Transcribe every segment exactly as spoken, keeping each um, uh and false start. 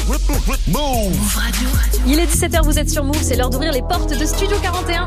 Move Radio. Il est dix-sept heures, vous êtes sur Move, c'est l'heure d'ouvrir les portes de Studio quarante et un.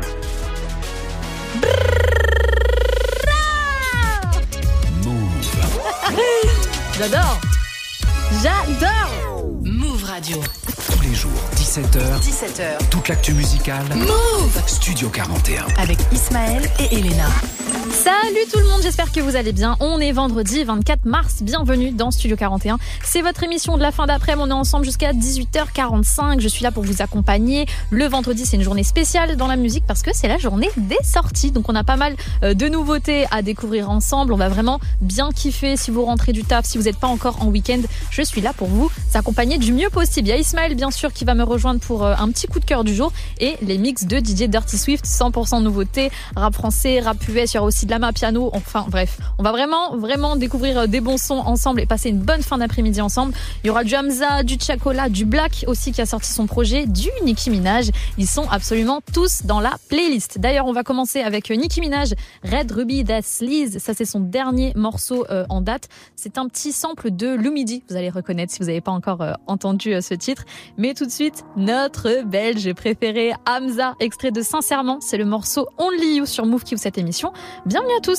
Move. J'adore. J'adore. Move Radio. Tous les jours, dix-sept heures. dix-sept heures. Toute l'actu musicale. Move. Studio quarante et un. Avec Ismaël et Elena. Salut tout le monde, j'espère que vous allez bien. On est vendredi vingt-quatre mars, bienvenue dans Studio quarante et un. C'est votre émission de la fin d'après-midi, on est ensemble jusqu'à dix-huit heures quarante-cinq. Je suis là pour vous accompagner. Le vendredi, c'est une journée spéciale dans la musique parce que c'est la journée des sorties. Donc on a pas mal de nouveautés à découvrir ensemble. On va vraiment bien kiffer si vous rentrez du taf, si vous n'êtes pas encore en week-end. Je suis là pour vous accompagner du mieux possible. Il y a Ismaël, bien sûr, qui va me rejoindre pour un petit coup de cœur du jour et les mix de D J Dirty Swift, cent pour cent nouveauté, rap français, rap U S, il y aura aussi de la main piano, enfin bref, on va vraiment vraiment découvrir des bons sons ensemble et passer une bonne fin d'après-midi ensemble. Il y aura du Hamza, du Chacola, du Black aussi qui a sorti son projet, du Nicki Minaj. Ils sont absolument tous dans la playlist. D'ailleurs, on va commencer avec Nicki Minaj, Red Ruby That's Liz. Ça, c'est son dernier morceau euh, en date. C'est un petit sample de Lumidi. Vous allez reconnaître si vous n'avez pas encore euh, entendu euh, ce titre. Mais tout de suite, notre Belge préféré, Hamza, extrait de Sincèrement. C'est le morceau Only You sur Move qui ouvre cette émission. Bienvenue à tous.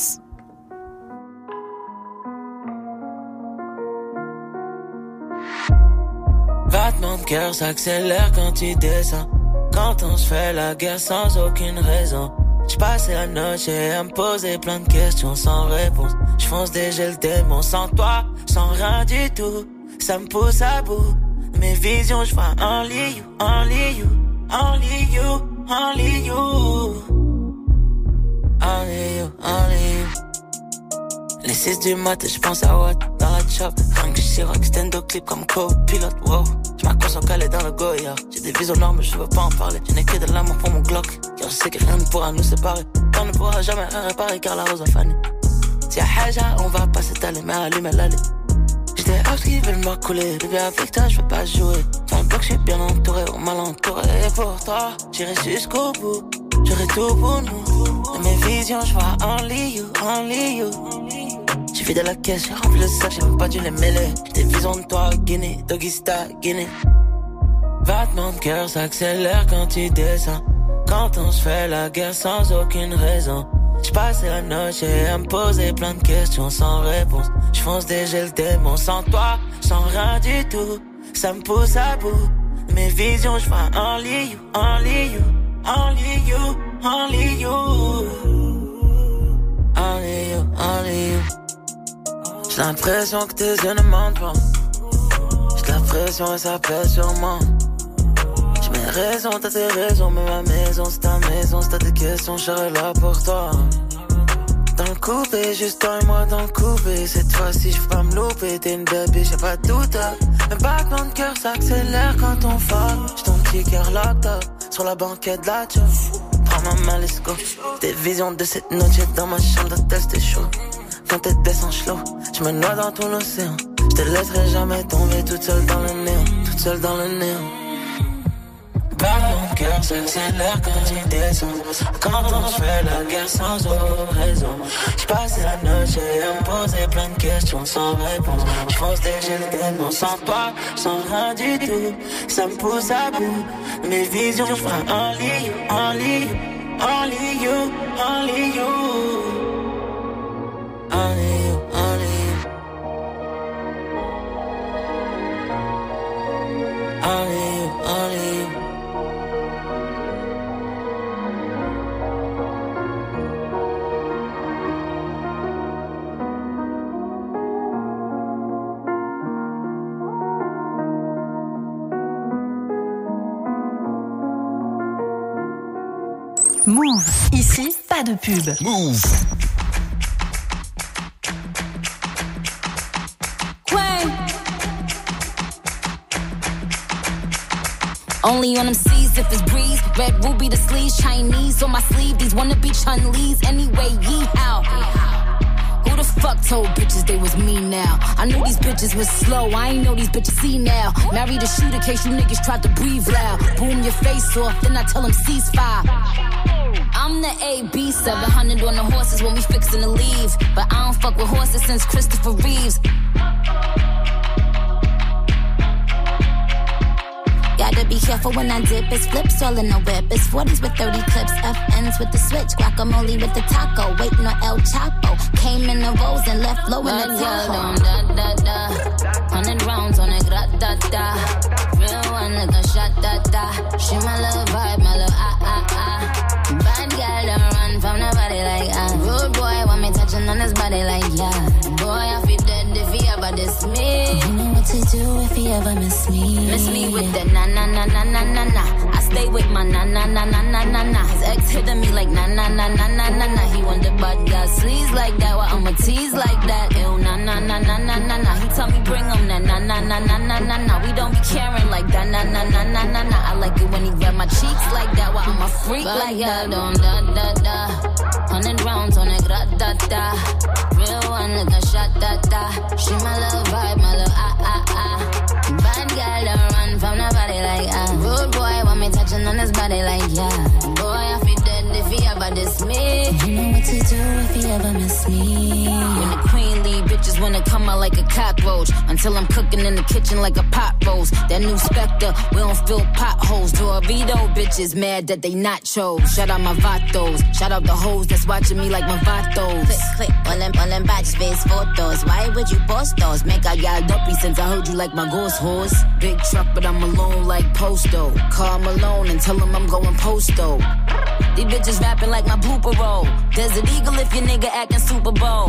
Battement de cœur s'accélère quand tu descends. Quand on se fait la guerre sans aucune raison. J'passais la noche à me poser plein de questions sans réponse. J'fonce déjà le démon sans toi, sans rien du tout. Ça me pousse à bout. Mes visions, j'vois only you, only you, only you, only you. Only you, only you. Les six du matin, j'pense à what dans la chop. Rien que Chirac, stand up clip comme copilote, wow. J'm'accroche en calé dans le Goya. J'ai des visions noires mais je veux pas en parler. Je n'ai que de l'amour pour mon Glock. Car je sais que rien ne pourra nous séparer. On ne pourra jamais rien réparer car la rose a fané. Si y'a Haja, on va pas s'étaler, mais allume l'allée. J'ai des hops qui veulent me couler. Bébé avec toi, je veux pas jouer. Dans le bloc, je suis bien entouré, ou mal entouré. Et pour toi, j'irai jusqu'au bout. J'aurai tout pour nous. Dans mes visions, je vois only you, only you. J'ai vidé la caisse, j'ai rempli le sac, j'ai même pas dû les mêler. J'ai des visions de toi, Guinée, Doggy Star, Guinée. Battement de cœur s'accélère quand tu descends. Quand on se fait la guerre sans aucune raison. J'passais la noche à me poser plein de questions sans réponse. J'fonce déjà le démon sans toi, sans rien du tout. Ça me pousse à bout. Mes visions, j'vois only you, only you, only you, only you. Only you, only you. J'ai l'impression que tes yeux ne mentent pas. J'ai l'impression et ça pèse sur moi. J'ai mes raisons, t'as tes raisons, mais ma maison c'est ta maison. Si t'as des questions, je serai là pour toi. Dans le coupé, juste toi et moi dans le coupé. Cette fois-ci, je veux pas me louper. T'es une baby, j'ai pas de doute. Un battement de cœur s'accélère quand on fuck. J'ai ton petit cœur locked up sur la banquette de la job. Prends ma main, let's go. Des visions de cette noche dans ma chambre d'hôtel, c'était chaud. Quand t'es descend slow, je me noie dans ton océan. Je te laisserai jamais tomber toute seule dans le néant, toute seule dans le néant. Battement de cœur s'accélère quand tu descends. Quand on se fait la guerre sans aucune raison. J'passe la noche à me poser plein de questions sans réponse. J'fonce déjà le démon sans toi, sans rien du tout. Ça me pousse à bout. Mes visions, j'ferai only you, only you, only you, only you. Only you, only you. Only you, only you. Move. Ici, pas de pub. Move. Only on them seas if it's breeze. Red ruby the sleeves, Chinese on my sleeve. These wanna be Chun-Lees anyway. Yee how? Who the fuck told bitches they was me now? I knew these bitches was slow. I ain't know these bitches see now. Married a shooter case you niggas tried to breathe loud. Boom your face off, then I tell them ceasefire. I'm the A B, seven hundred on the horses when we fixin' to leave. But I don't fuck with horses since Christopher Reeves. careful when I dip. It's flips all in the whip. It's forties with thirty clips. F Ns with the switch. Guacamole with the taco. Waiting on El Chapo. Came in the rolls and left low in the Tahoe. Da da da. Hundred rounds on it. Gra da da. Real one like a shot da da. She my little vibe, my little ah ah ah. Bad girl don't run from nobody like ah. Rude boy want me touching on his body like yeah. Boy I feel dead if he ever diss me. You know what to do if he ever miss me. Miss me with the na na na na na na na. I stay with my na na na na na na na. His ex hitting me like na na na na na na na. He want the bad girl sleaze like that. Why I'ma tease like that? Ew na na na na na na na. He tell me bring him na na na na na na na na. We don't be caring like that na na na na na na. I like it when he grab my cheeks like that. Why I'm a freak but like that? Don't da da da. Hundred rounds on it, gra da da. Real one like a shot da da. She my little vibe, my little ah ah ah. Bad girl don't run from nobody like ah. Rude boy want me touching on his body like yeah. Boy I feel dead if he ever diss me. You know what to do if he ever miss me. When the queen leave, bitches wanna come out like a cockroach. Until I'm cooking in the kitchen like a pot roast. That new Spectre, we don't fill potholes. Dorito bitches mad that they not chose. Shout out my vatos, shout out the hoes that's watching me like my vatos. Click, click, all them, all them batch face photos. Why would you post those? Make a y'all dopey since I heard you like my ghost horse. Big truck, but I'm alone like Posto. Call Malone and tell him I'm going Posto. These bitches rapping like my blooper roll. Desert Eagle if your nigga acting Super Bowl.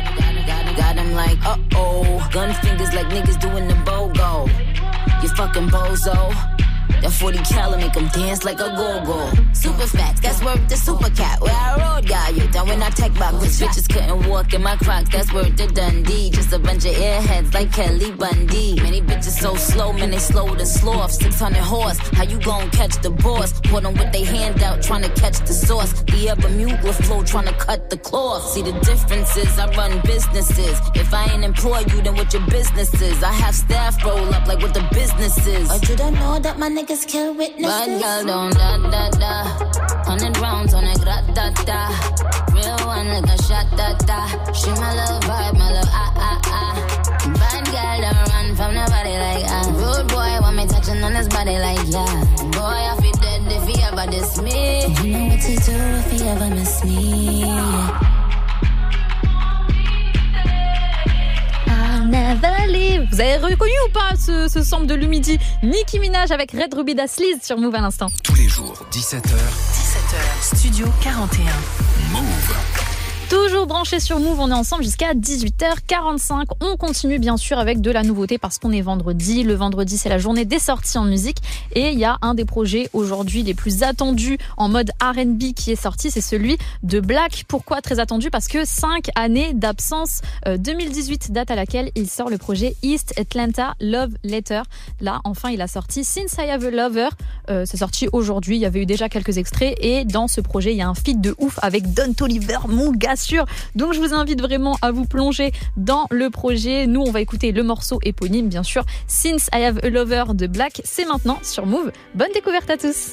Got him like, uh-oh. Gun fingers like niggas doing the BOGO. You fucking bozo. That forty cal make them dance like a go-go. Super facts, that's worth the super cat. Where I rode, got you down when I tech back. Cause bitches couldn't walk in my Crocs, that's worth the Dundee. Just a bunch of airheads like Kelly Bundy. Many bitches so slow, man, they slow to sloth. six hundred horse, how you gon' catch the boss? Put them with they hand out, trying to catch the sauce. The ever Mugler flow, trying to cut the cloth. See the differences, I run businesses. If I ain't employ you, then what your business is? I have staff roll up like what the business is. Or you don't know that my niggas kill witnesses. Bad girl don't da da da. Hundred rounds on it, gra da da. Real one like a shot da da. She my little vibe, my little ah ah ah. Bad girl don't run from nobody like ah. Rude boy want me touching on his body like yeah. Boy I feel dead if he ever diss me. You know what to do if he ever miss me. Yeah. Never leave. Vous avez reconnu ou pas ce, ce sample de Lumidi? Nicki Minaj avec Red Ruby Da Sleaze sur Move à l'instant. Tous les jours, dix-sept heures. dix-sept heures, Studio quarante et un. Move. Toujours branché sur Move, on est ensemble jusqu'à dix-huit heures quarante-cinq. On continue bien sûr avec de la nouveauté parce qu'on est vendredi. Le vendredi, c'est la journée des sorties en musique. Et il y a un des projets aujourd'hui les plus attendus en mode R and B qui est sorti, c'est celui de Black. Pourquoi très attendu? Parce que cinq années d'absence. Euh, deux mille dix-huit, date à laquelle il sort le projet East Atlanta Love Letter. Là, enfin, il a sorti Since I Have a Lover. Euh, c'est sorti aujourd'hui. Il y avait eu déjà quelques extraits. Et dans ce projet, il y a un feat de ouf avec Don Toliver, mon gars sûr. Donc je vous invite vraiment à vous plonger dans le projet. Nous on va écouter le morceau éponyme bien sûr, Since I Have a Lover de Black. C'est maintenant sur Move. Bonne découverte à tous.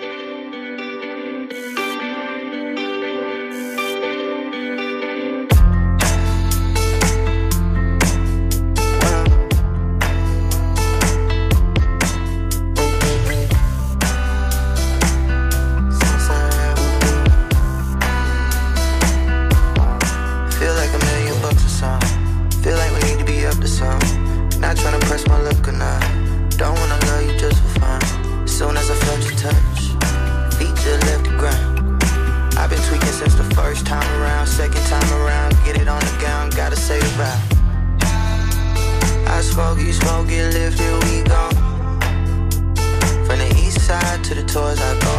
Not tryna press my luck or not. Don't wanna love you just for fun. As soon as I felt your touch, feet just left the ground. I've been tweaking since the first time around. Second time around, get it on the gown, gotta say goodbye. I smoke, you smoke, get lifted, we gone. From the east side to the tours I go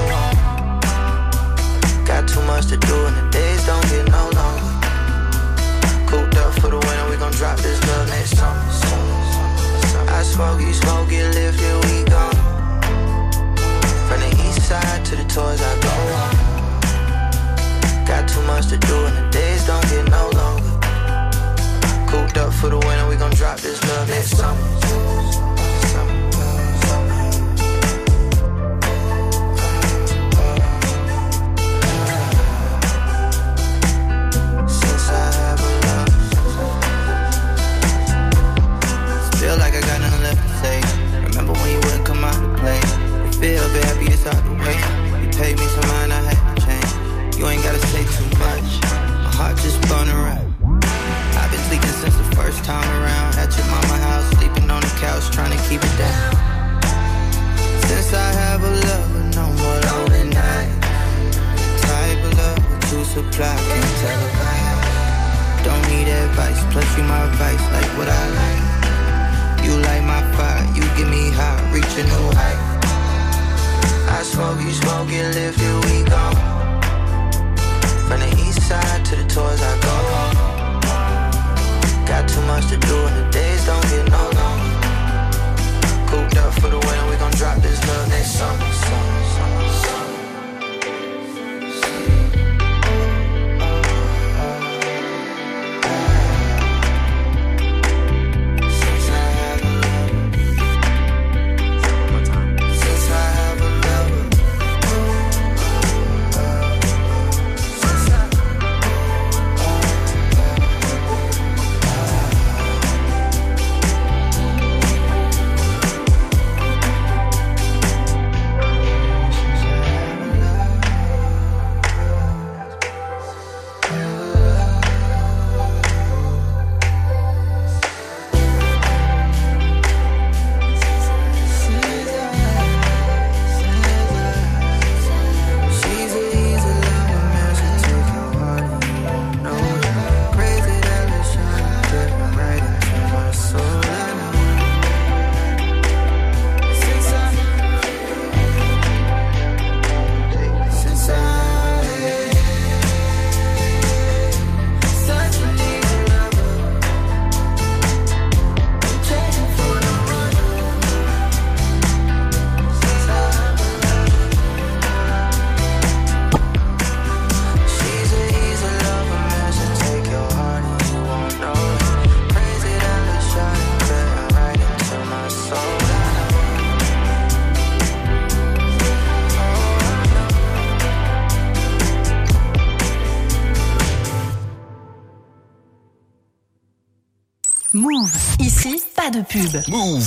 on. Got too much to do and the days don't get no longer. Cooped up for the winter, we gon' drop this love next summer. I smoke, you smoke, get lifted, we gone. From the east side to the tours I go on. Got too much to do and the days don't get no longer. Cooped up for the winter, we gon' drop this love next summer. don't get lifted, we go. From the east side to the tours I go. Got too much to do and the days don't get no longer. Cooped up for the winter, we gon' drop this love next summer, summer, summer, summer. Move. Ici, pas de pub. Move.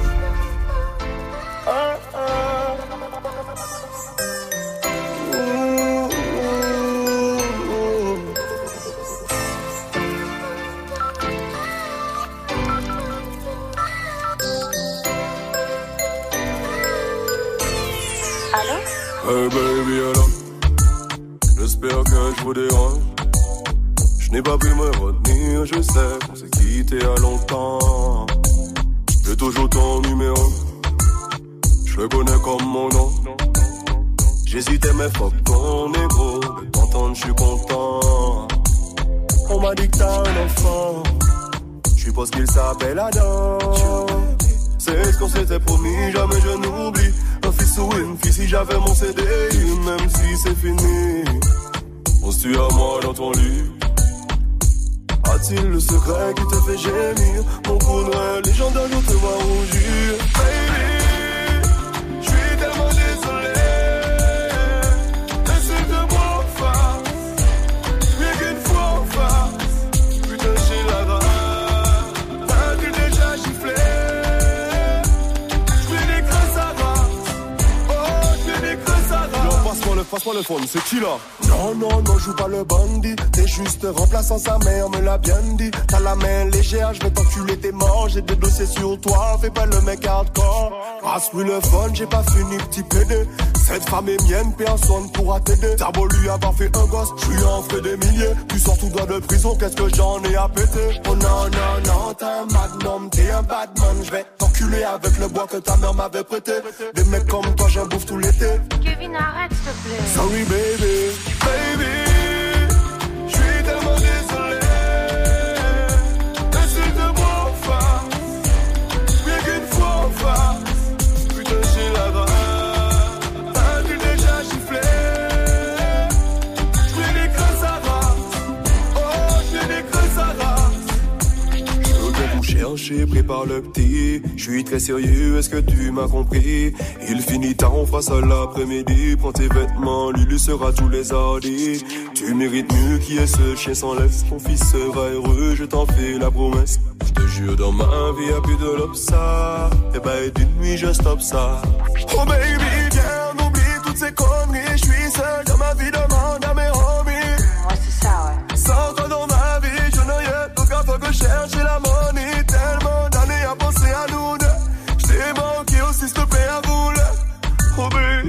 Allô? Hey baby, alors, j'espère que je vous dérange. Je n'ai pas pu me retenir, je sais qu'on s'est quitté à longtemps. J'ai toujours ton numéro, je le connais comme mon nom. J'hésitais mais fuck ton ego, de t'entendre je suis content. On m'a dit que t'as un enfant, je suppose qu'il s'appelle Adam. C'est ce qu'on s'était promis, jamais je n'oublie. Un fils ou une fille si j'avais mon C D I, même si c'est fini. On se tue à moi dans ton lit. A-t-il le secret qui te fait gémir? Mon cousin légendaire, je te vois rougir. Baby, je suis tellement désolé. Laisse-moi en face, rien qu'une fois en face. Putain, j'ai la rage, t'as-tu déjà giflé? J'fais des crasses à race, oh, j'fais des crasses à race. Non, passe-moi le, passe-moi le phone, c'est qui là? Non, non, non, joue pas le bandit. T'es juste remplaçant, sa mère me l'a bien dit. T'as la main légère, je vais t'enculer tes morts. J'ai des dossiers sur toi, fais pas le mec hardcore. Passe-lui le fun, j'ai pas fini, petit pédé. Cette femme est mienne, personne pourra t'aider. T'as beau lui avoir fait un gosse, je lui en ferai des milliers. Tu sors tout droit de prison, qu'est-ce que j'en ai à péter? Oh non, non, non, t'es un magnum, t'es un badman. Je vais t'enculer avec le bois que ta mère m'avait prêté. Des mecs comme toi, j'en bouffe tout l'été. Kevin, arrête, s'il te plaît. Sorry, baby, baby. Tellement désolé, laisse-moi en face, rien qu'une fois en face. Putain, j'ai la rage, t'as-tu déjà giflé? J'fais des crasses à race, oh, j'fais des crasses à race. Je viens vous chercher, prépare le petit. Je suis très sérieux, est-ce que tu m'as compris? Il finit tard, on fera ça l'après-midi. Prends tes vêtements, Lulu sera tous les hardis. Tu mérites mieux qui est ce chien sans laisse. Ton fils sera heureux, je t'en fais la promesse. Je te jure, dans ma vie y'a plus de l'obsa. Et bah, et d'une nuit, je stoppe ça. Oh baby, viens, on oublie toutes ces conneries. Je suis seul dans ma vie, demande à mes homies. Ouais, c'est ça, ouais. Sans toi dans ma vie, je n'ai rien. Donc, à faut que je cherche la money. Tellement d'années à penser à nous deux. Je t'ai manqué aussi, s'il te plaît, à vous là. Oh baby.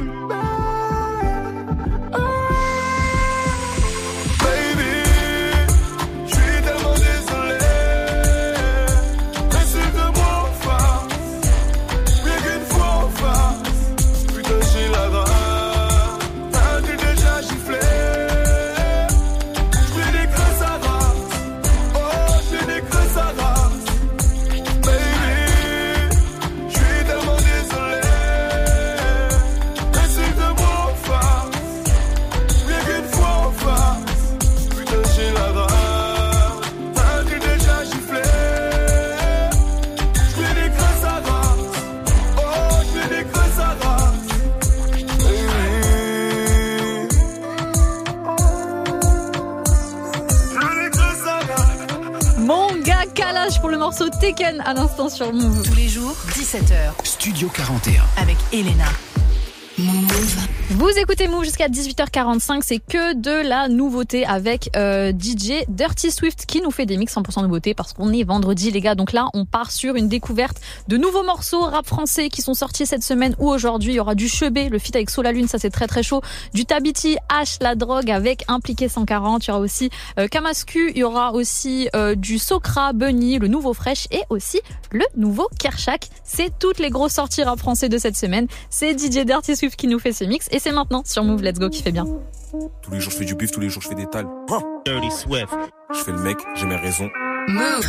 morceau Taken à l'instant sur Move. Tous les jours, dix-sept heures. Studio quarante et un. Avec Elena. Move. Vous écoutez Move jusqu'à dix-huit heures quarante-cinq, c'est que de la nouveauté avec euh, D J Dirty Swift qui nous fait des mix cent pour cent nouveauté parce qu'on est vendredi les gars. Donc là on part sur une découverte de nouveaux morceaux rap français qui sont sortis cette semaine ou aujourd'hui. Il y aura du Chebet, le feat avec Sola Lune, ça c'est très très chaud. Du Tabiti, H, la drogue avec Impliqué cent quarante. Il y aura aussi euh, Kamasku, il y aura aussi euh, du Sokra, Bunny, le nouveau Fresh et aussi le nouveau Kershak. C'est toutes les grosses sorties rap français de cette semaine. C'est D J Dirty Swift qui nous fait ce mix et c'est maintenant sur Move Let's Go qui fait bien. Tous les jours je fais du bif, tous les jours je fais des tales. Dirty Swift. Je fais le mec, j'ai mes raisons. Move.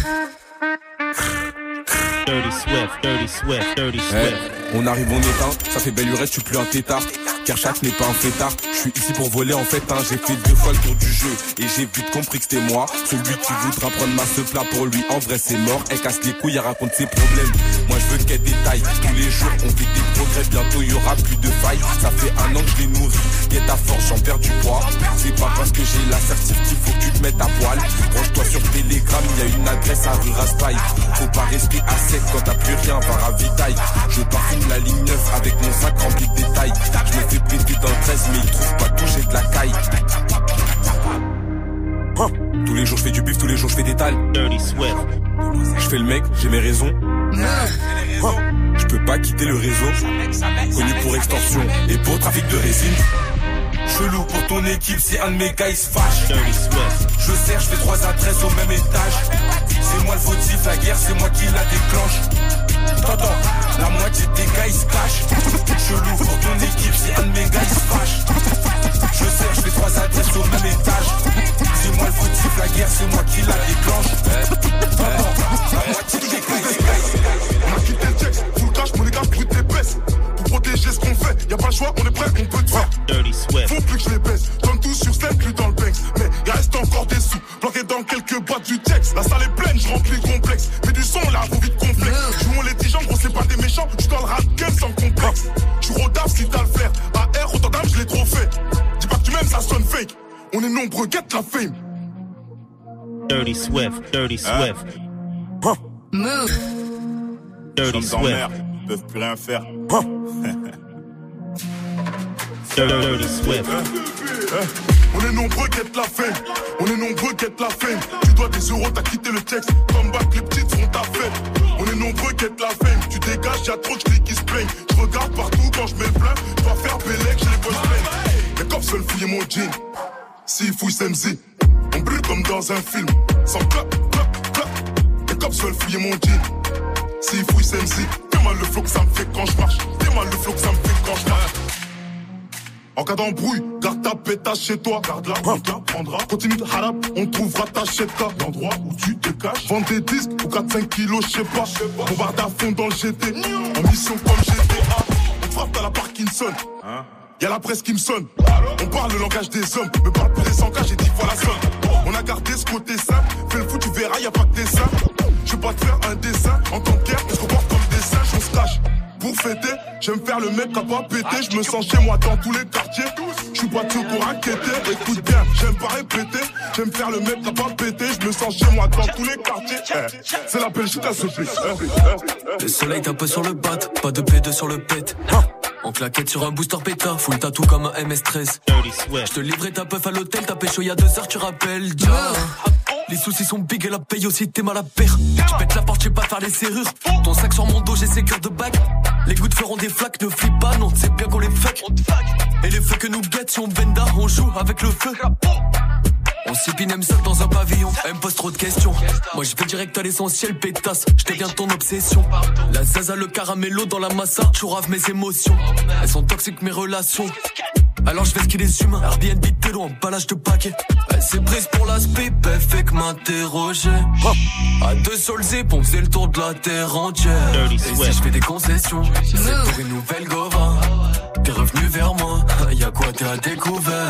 Dirty Swift, Dirty Swift, Dirty Swift. Hey, on arrive, on éteint, ça fait belle lurette, je suis plus un tétard. Kershak n'est pas un fêtard, je suis ici pour voler en fait, hein. J'ai fait deux fois le tour du jeu et j'ai vite compris que c'était moi. Celui qui voudra prendre ma ce plat pour lui, en vrai c'est mort. Elle casse les couilles, elle raconte ses problèmes. Moi je veux qu'elle détaille, tous les jours on fait des progrès. Bientôt il y aura plus de failles, ça fait un an que je les nourris. Y'a ta force, j'en perds du poids. C'est pas parce que j'ai l'assertif qu'il faut que tu te mettes à poil. Branche-toi sur Telegram, y a une adresse à rue Raspail. Faut pas rester à sec quand t'as plus rien, va ravitaille. Je parfume la ligne neuf avec mon sac rempli de détails. Je me fais péter dans le treize mais ils trouvent pas tout, j'ai de la caille. Hein, tous les jours je fais du bif, tous les jours je fais des tales. Dirty Swift. Je fais le mec, j'ai mes raisons. Hein, je peux pas quitter le réseau. Connu pour extorsion et pour trafic de résine. Chelou pour ton équipe si un de mes gars il se fâche. Dirty Swift. Je sers, je fais trois adresses au même étage. C'est moi le fautif, la guerre c'est moi qui la déclenche. T'entends, la moitié des gars ils se cachent. Chelou pour ton équipe si un de mes gars il se fâche. Je sers, je fais trois adresses au même étage. C'est moi le fautif, la guerre c'est moi qui la déclenche. T'entends, la moitié des gars ils se cachent. On a quitté le texte, full cash, mon les gars brut épaisse. Pour protéger ce qu'on fait, y'a pas le choix, on est prêt, on peut te faire. Dirty Swift. Faut plus que je les baisse, donne tout sur scène, plus dans le banks. Mais il reste encore des sous, bloqués dans quelques boîtes du texte. La salle est pleine, je remplis le complexe. Mais du son là, faut vite complexe. Jouons les dix gens, gros c'est pas des méchants, j'suis dans le rap game sans complexe. J'suis rodave si t'as le flair, A R, autant d'âme, je l'ai trop fait. Dis pas que tu m'aimes, ça sonne fake. On est nombreux, get la fame. Dirty Swift, Dirty Swift. Hein? Move. Dirty Ils sont en Swift. mer, ils peuvent plus rien faire. Dirty Dirty Swift. On est nombreux, get la fame. On est nombreux, get la fame. Tu dois des euros, t'as quitté le texte. Come back, les petites font ta fête. On est nombreux, get la fame. Tu dégages, y'a trop de clics qui se plaignent. Je regarde partout quand je mets le plein. Je dois faire Bélec, j'ai les boys pleins. Les cops veulent fouiller mon jean. S'ils fouillent Semzi, on brûle comme dans un film. Sans clap, clap, clap. Les cops veulent fouiller mon jean. S'ils fouillent Semzi, fais mal le flow que ça me fait quand je marche. Fais mal le flow que ça me fait quand je marche. En cas d'embrouille, garde ta pétasse chez toi. Garde-la, on te la prendra. Continue de harap, on trouvera ta cheta. L'endroit où tu te caches. Vends des disques ou quatre cinq kilos, je sais pas. Bombarde à fond dans le G T. En mission comme G T A. On te frappe à la Parkinson. Hein? Y'a la presse qui me sonne. On parle le langage des hommes. Me parle plus des cent cas, j'ai dit voilà somme. On a gardé ce côté simple. Fais le foot, tu verras, y'a pas que des seins. Je vais pas te faire un dessin. En tant que guerre, on se comporte comme des singes, on se cache. Pour fêter, j'aime faire le mec qui a pas pété. Je me sens chez moi dans tous les quartiers. Je suis pas de pour raqueter. Écoute bien, j'aime pas répéter. J'aime faire le mec qui a pas pété. Je me sens chez moi dans tous les quartiers. Eh, c'est la Belgique à ce prix. Le soleil tape sur le bat, pas de P deux sur le pet. En claquette sur un booster péta, full tatou comme un M S treize. Je te livrais ta puff à l'hôtel, t'as pécho y'a deux heures, tu rappelles, déjà. Les soucis sont big et la paye aussi, t'es mal à père. Tu pètes la porte, j'sais pas faire les serrures. Ton sac sur mon dos, j'ai ses cœurs de bague. Les gouttes feront des flaques, ne flippe pas, non, c'est bien qu'on les fuck. Et les feux que nous guettent, si on benda, on joue avec le feu. On s'épine même seul dans un pavillon. Elle me pose trop de questions. Moi je vais direct à l'essentiel, pétasse. Je deviens ton obsession. La zaza, le caramello dans la massa. Chourave mes émotions. Elles sont toxiques mes relations. Alors je fais ce qu'il est humain. Airbnb télo, emballage de paquets. Elle s'est prise pour l'aspect, elle fait que m'interroger. À deux sols épons, c'est le tour de la terre entière. Et si je fais des concessions, c'est pour une nouvelle gova. T'es revenu vers moi, y'a quoi t'es à découvert.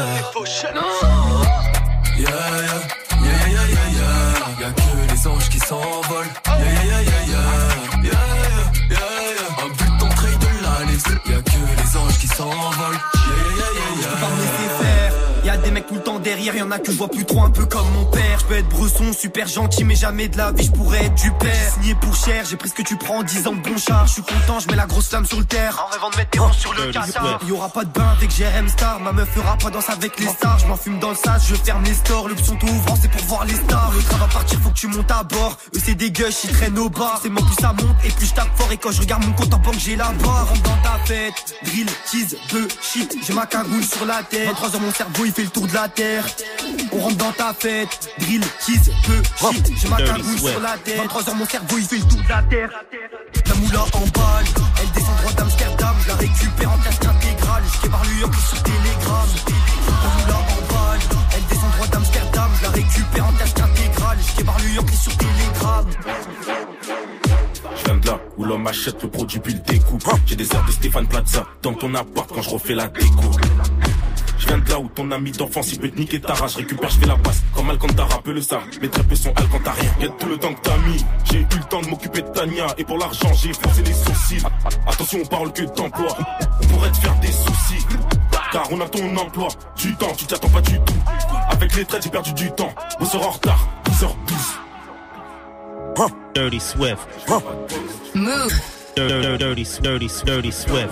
Yeah, yeah, yeah, yeah, yeah, yeah. Y'a que les anges qui s'envolent. Yeah, yeah, yeah, yeah, yeah. Yeah, yeah, yeah, yeah. Un but d'entrée de la liste. Y'a que les anges qui s'envolent. Yeah, yeah, yeah, yeah, yeah. Je peux pas me laisser faire. Y'a des mecs tout le temps derrière, y'en a que je vois plus trop, un peu comme mon père. Je peux être bresson, super gentil, mais jamais de la vie je pourrais être du père. Signé pour cher, j'ai pris ce que tu prends en dix ans de bon char. Je suis content, je mets la grosse flamme sur le terre. En rêvant de mettre des ronds sur le cassard. Y'aura pas de bain avec J R M Star, ma meuf fera pas danse avec les stars. Je m'en fume dans le sas, je ferme les stores. L'option tout ouvrant, c'est pour voir les stars. Le train va partir, faut que tu montes à bord. Eux c'est des gueuches, ils traînent au bar. C'est moi plus ça monte et plus je tape fort. Et quand je regarde mon compte en banque, j'ai la barre. Rentre dans ta fête, drill, tease, bœuf, shit. J'ai ma cagoule sur la tête. vingt-trois heures mon cerveau il fait le tour de la terre. On rentre dans ta fête, drill, tease, bœuf, shit. J'ai ma cagoule sur la tête. vingt-trois heures mon cerveau il fait le tour de la terre. La moula en balle, elle descend droit d'Amsterdam. Je la récupère en casque intégral. Je kébare New York sur Telegram. La moula en balle, elle descend droit d'Amsterdam. Je la récupère en casque intégral. Je kébare New York sur Telegram. Je viens de là où l'homme achète le produit puis le découpe. J'ai des airs de Stéphane Plaza dans ton appart quand je refais la déco. Je viens de là où ton ami d'enfance il peut te niquer ta rage. Je récupère, je fais la passe comme Alcantara peut le savoir. Mes très peu sont Alcantarien. Y'a tout le temps que t'as mis. J'ai eu le temps de m'occuper de Tania. Et pour l'argent j'ai forcé les sourcils. Attention on parle que d'emploi. On pourrait te faire des soucis. Car on a ton emploi. Du temps, tu t'y attends pas du tout. Avec les traites j'ai perdu du temps. On sera en retard, douze heures douze. Dirty Swift. Move. Dirty, dirty, dirty, dirty Swift.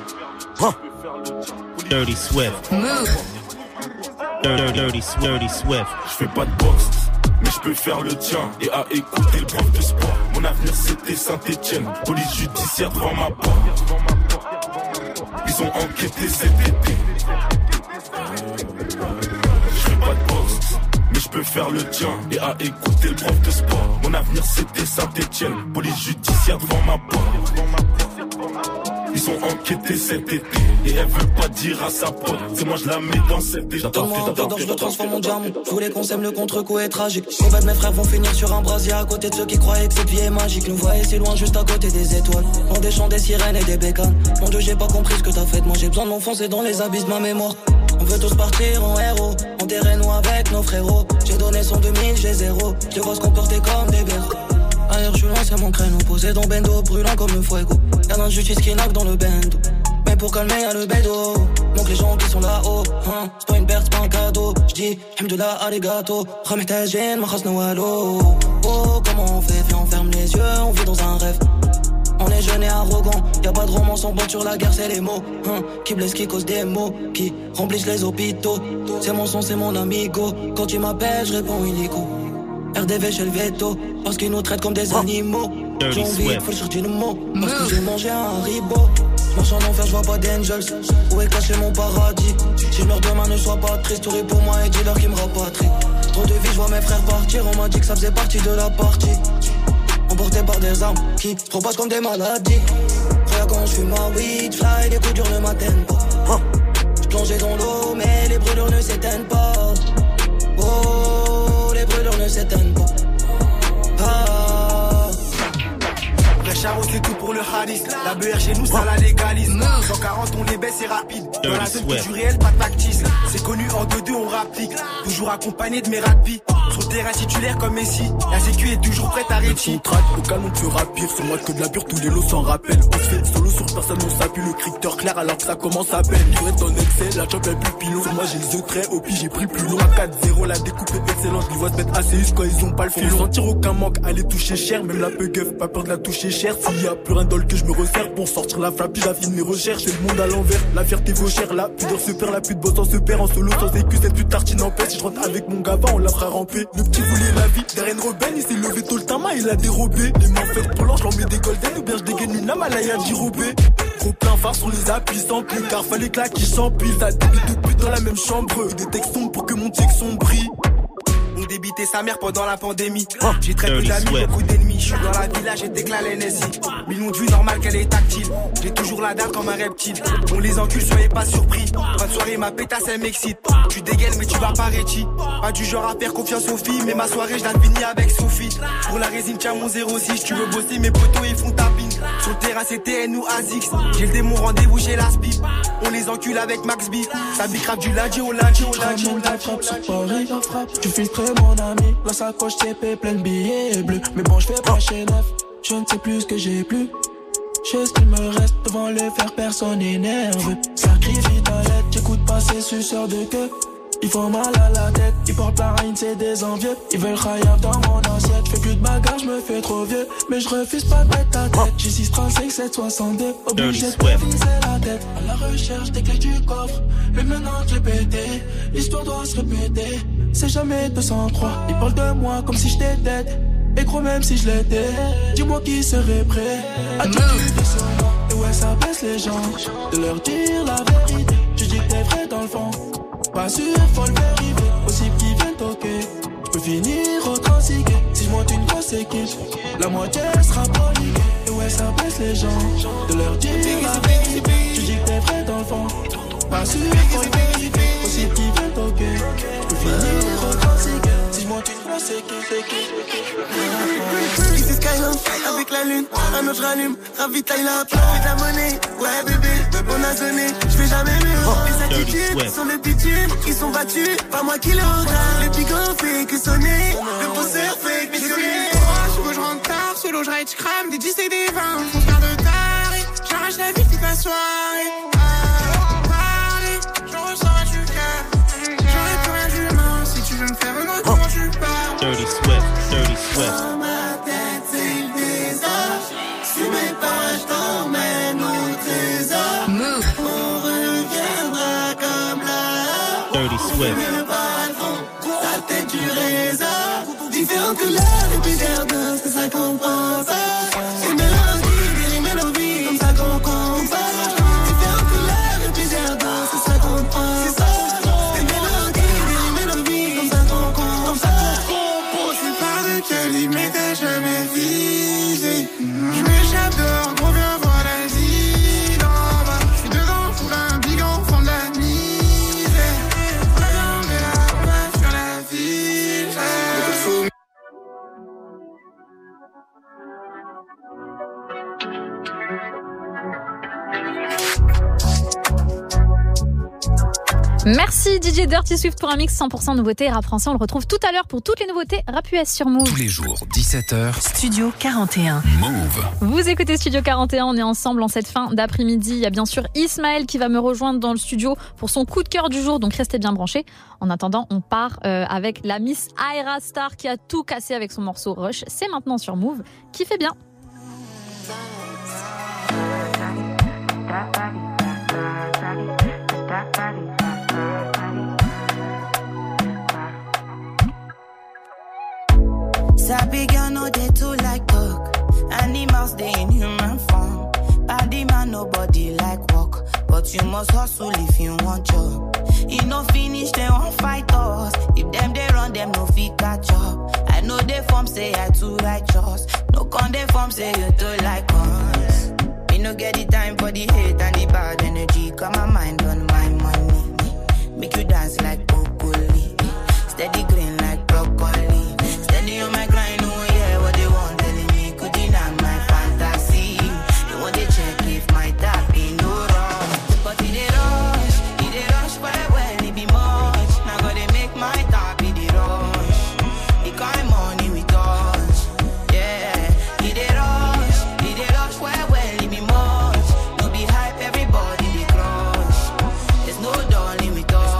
Dirty Swift. Move. Dirty, dirty, dirty Swift. Je fais pas de boxe, mais je peux faire le tien. Et à écouter le prof de sport. Mon avenir c'était Saint-Etienne. Police judiciaire devant ma porte. Ils ont enquêté cet été. Je fais pas de boxe, mais je peux faire le tien. Et à écouter le prof de sport. Mon avenir c'était Saint-Etienne. Police judiciaire devant ma porte. Ils ont enquêté cet été. Et elle veut pas dire à sa pote. C'est moi je la mets dans cette déjà. Donne-moi un peu d'or, je le transforme mon diamant. Je voulais qu'on s'aime, le contre-coup est tragique. En fait mes frères vont finir sur un brasier. À côté de ceux qui croyaient que cette vie est magique. Nous voyez si loin juste à côté des étoiles. Dans des champs, des sirènes et des bécanes. Mon Dieu j'ai pas compris ce que t'as fait de moi. J'ai besoin de m'enfoncer dans les abysses de ma mémoire. On veut tous partir en héros. Enterrez-nous avec nos frérots. J'ai donné son deux mille, j'ai zéro. Je vois se comporter comme des berceaux. Ailleurs je suis loin, c'est mon créneau. Posé dans bendo, brûlant comme le fuego. Y'a l'injustice qui knock dans le bendo. Mais pour calmer y'a le bédo. Donc les gens qui sont là-haut, hein, c'est pas une perte, c'est pas un cadeau. J'dis, hamdoulah, arigato. Ramehtajin, ma khas nawalo. Oh, comment on fait? Viens, on ferme les yeux, on vit dans un rêve. On est jeunes et arrogants, y'a pas de romance, on botte sur la guerre, c'est les mots, hein, qui blessent, qui causent des mots, qui remplissent les hôpitaux. C'est mon son, c'est mon amigo. Quand tu m'appelles, je réponds illico. R D V chez le veto, parce qu'ils nous traitent comme des animaux. J'ai envie, faut chercher nos mots, parce que j'ai mangé un haribo. Marche en enfer, je vois pas d'angels. Où est caché mon paradis? Si je meurs demain, ne sois pas triste. Souris pour moi et dis-leur qu'ils me rapatrient. Trop de vie, je vois mes frères partir. On m'a dit que ça faisait partie de la partie. Emportés par des armes qui se repassent comme des maladies. Frère, quand je fume ma weed, fly, les coups durs ne m'atteignent pas. Je plongeais dans l'eau, mais les brûlures ne s'éteignent pas. Oh, les brûlures ne s'éteignent pas. Ah. Charo c'est tout pour le Haris. La B R chez nous ça la légalise. cent quarante on les baisse c'est rapide. Dans la zone que du réel pas de factice. C'est connu en deux deux on rapplique. Toujours accompagné de mes rapis. Sur le terrain titulaire comme Messi. La sécu est toujours prête à réussir. On traque au canon plus rapide. C'est moi que de la pure tous les lots s'en rappellent. On se fait solo sur personne on s'appuie. Le crypteur clair alors que ça commence à peine. Je reste en excès la champ est plus pilon. Sur moi j'ai les œufs très au pis j'ai pris plus long. À quatre zéro la découpe est excellente. Les voix se mettent assez quand ils ont pas le fil. Faut sentir aucun manque. Aller toucher cher. Même la peu gueuf pas peur de la toucher cher. S'il y a plus rien dans le que je me resserre pour sortir la flappe, j'affine mes recherches. C'est le monde à l'envers, la fierté vaut cher. La pudeur se perd, la pute bosse en se perd. En solo sans écu, cette pute tartine en paix. Si je rentre avec mon gava, on la fera ramper. Le petit voulait la vie, derrière une rebelle, il s'est levé tôt le tama, il a dérobé. Les mains faites pour l'ange, j'en mets des golden. Ou bien je dégaine une amalaya d'irobé. Trop plein phare sur les appuis sans plus. Car fallait que là qui s'empile. Ça débite de pute dans la même chambre. Et des textes sombres pour que mon texte brille. On débitait sa mère pendant la pandémie. J'ai très peu d'amis, beaucoup d'ennemis. Je suis dans la villa, j'ai déclaré l'N S I. Millions de vues, normal qu'elle est tactile. J'ai toujours la dalle comme un reptile. On les encule, soyez pas surpris. Fin de soirée, ma pétasse, elle m'excite. Tu dégaines, mais tu vas pas réti. Pas du genre à faire confiance aux filles. Mais ma soirée, je la finis avec Sophie. Pour la résine, tiens mon zéro six. Tu veux bosser, mes potos, ils font tapine. Sur le terrain, c'est T N ou Azix. J'ai le démon, rendez-vous chez la Spip. On les encule avec Max B. Ça bicrave du lundi au lundi au lundi au lundi. Tu filtres mon ami, la sacoche T P pleine de billets bleus. Mais bon, je fais pas chez neuf, je ne sais plus ce que j'ai plus. Je sais ce qu'il me reste devant le faire, personne n'est nerveux. Sacrifie ta lettre, j'écoute pas ces suceurs de queue. Ils font mal à la tête, ils portent la reine, c'est des envieux. Ils veulent khayab dans mon assiette. J'fais plus de bagarre, j'me fais trop vieux. Mais j'refuse pas de mettre ta tête. J'ai six trente-cinq, sept soixante-deux. Obligé de pas viser la tête. À la recherche des clés du coffre. Mais maintenant que je l'ai pété, l'histoire doit se répéter. C'est jamais deux cent trois. Ils parlent de moi comme si j'étais dead. Et gros, même si je l'étais, dis-moi qui serait prêt à tout quitter sur moi. Et ouais, ça blesse les gens de leur dire la vérité. Tu dis que t'es vrai dans le fond. Pas sûr, faut le vérifier. Possible qu'ils viennent toquer. J'peux finir au transiqué. Si j'monte une grosse équipe, la moitié sera paniquée. Et ouais, ça blesse les gens de leur dire la vérité. Tu dis que t'es vrai dans le fond. Pas sûr, faut le vérifier. Possible qu'ils viennent toquer. J'peux finir au transiqué. Si j'monte une grosse équipe. Ici Skyline, avec la lune, un autre j'rallume, ravitaille la plaque, de la monnaie, ouais bébé, on a sonné, j'fais jamais mieux. Les attitudes sont des bitumes, ils sont battus, pas moi qui le regarde. Les pigots fait que sonner, le posseur fait que missionner. Je rentre tard, solo j'ride, j'crame, des dix et des vingt, mon frère de taré, j'arrache la vie toute la soirée. Parler, je ressens du cœur, j'aurais plus rien d'humain, si tu veux me faire un autre, comment tu parles. Dirty Swift, Dirty Swift. Dans ma tête, c'est le désastre. Sur mes pas, je t'emmène au trésor. Move. On reviendra comme là. Dirty Swift. Le balcon, la tête du réseau. Différentes couleurs et plusieurs doses, c'est ça qu'on pense. Une mélodie, des mélodies, comme ça qu'on compare. Différentes couleurs et plusieurs doses, c'est ça qu'on pense. Des mélodies, des mélodies, comme ça qu'on compare. Quelle limite ai jamais visé. J'm'échappe dehors, gros viens voir la vie d'en bas. J'suis dedans, fous un bigot au fond de la misère. Regarde là, on va sur la ville. Merci D J Dirty Swift pour un mix cent pour cent nouveauté rap français. On le retrouve tout à l'heure pour toutes les nouveautés rap U S sur Move. Tous les jours, dix-sept heures. Studio quarante et un. Move. Vous écoutez Studio quarante et un, on est ensemble en cette fin d'après-midi. Il y a bien sûr Ismaël qui va me rejoindre dans le studio pour son coup de cœur du jour, donc restez bien branchés. En attendant, on part euh, avec la Miss Ayra Starr qui a tout cassé avec son morceau Rush. C'est maintenant sur Move, qui fait bien. Sabi girl no they too like talk. Animals they in human form. Body man nobody like walk, but you must hustle if you want job. You no finish they won't fight us. If them they run them no fit catch up. I know they form say I too righteous. No con they form say you too like us. Me no get the time for the hate and the bad energy. Got my mind on my money. Make you dance like broccoli. Steady green like broccoli. Steady on my grind, oh yeah, what they want telling me could deny my fantasy. They want to check if my tap ain't no wrong. But it they rush, it they rush well, well, it be much. Now gotta make my tap, it they rush. The kind money we touch, yeah. It they rush, it they rush well, well, it be much. No be hype, everybody they crush. There's no darling with us.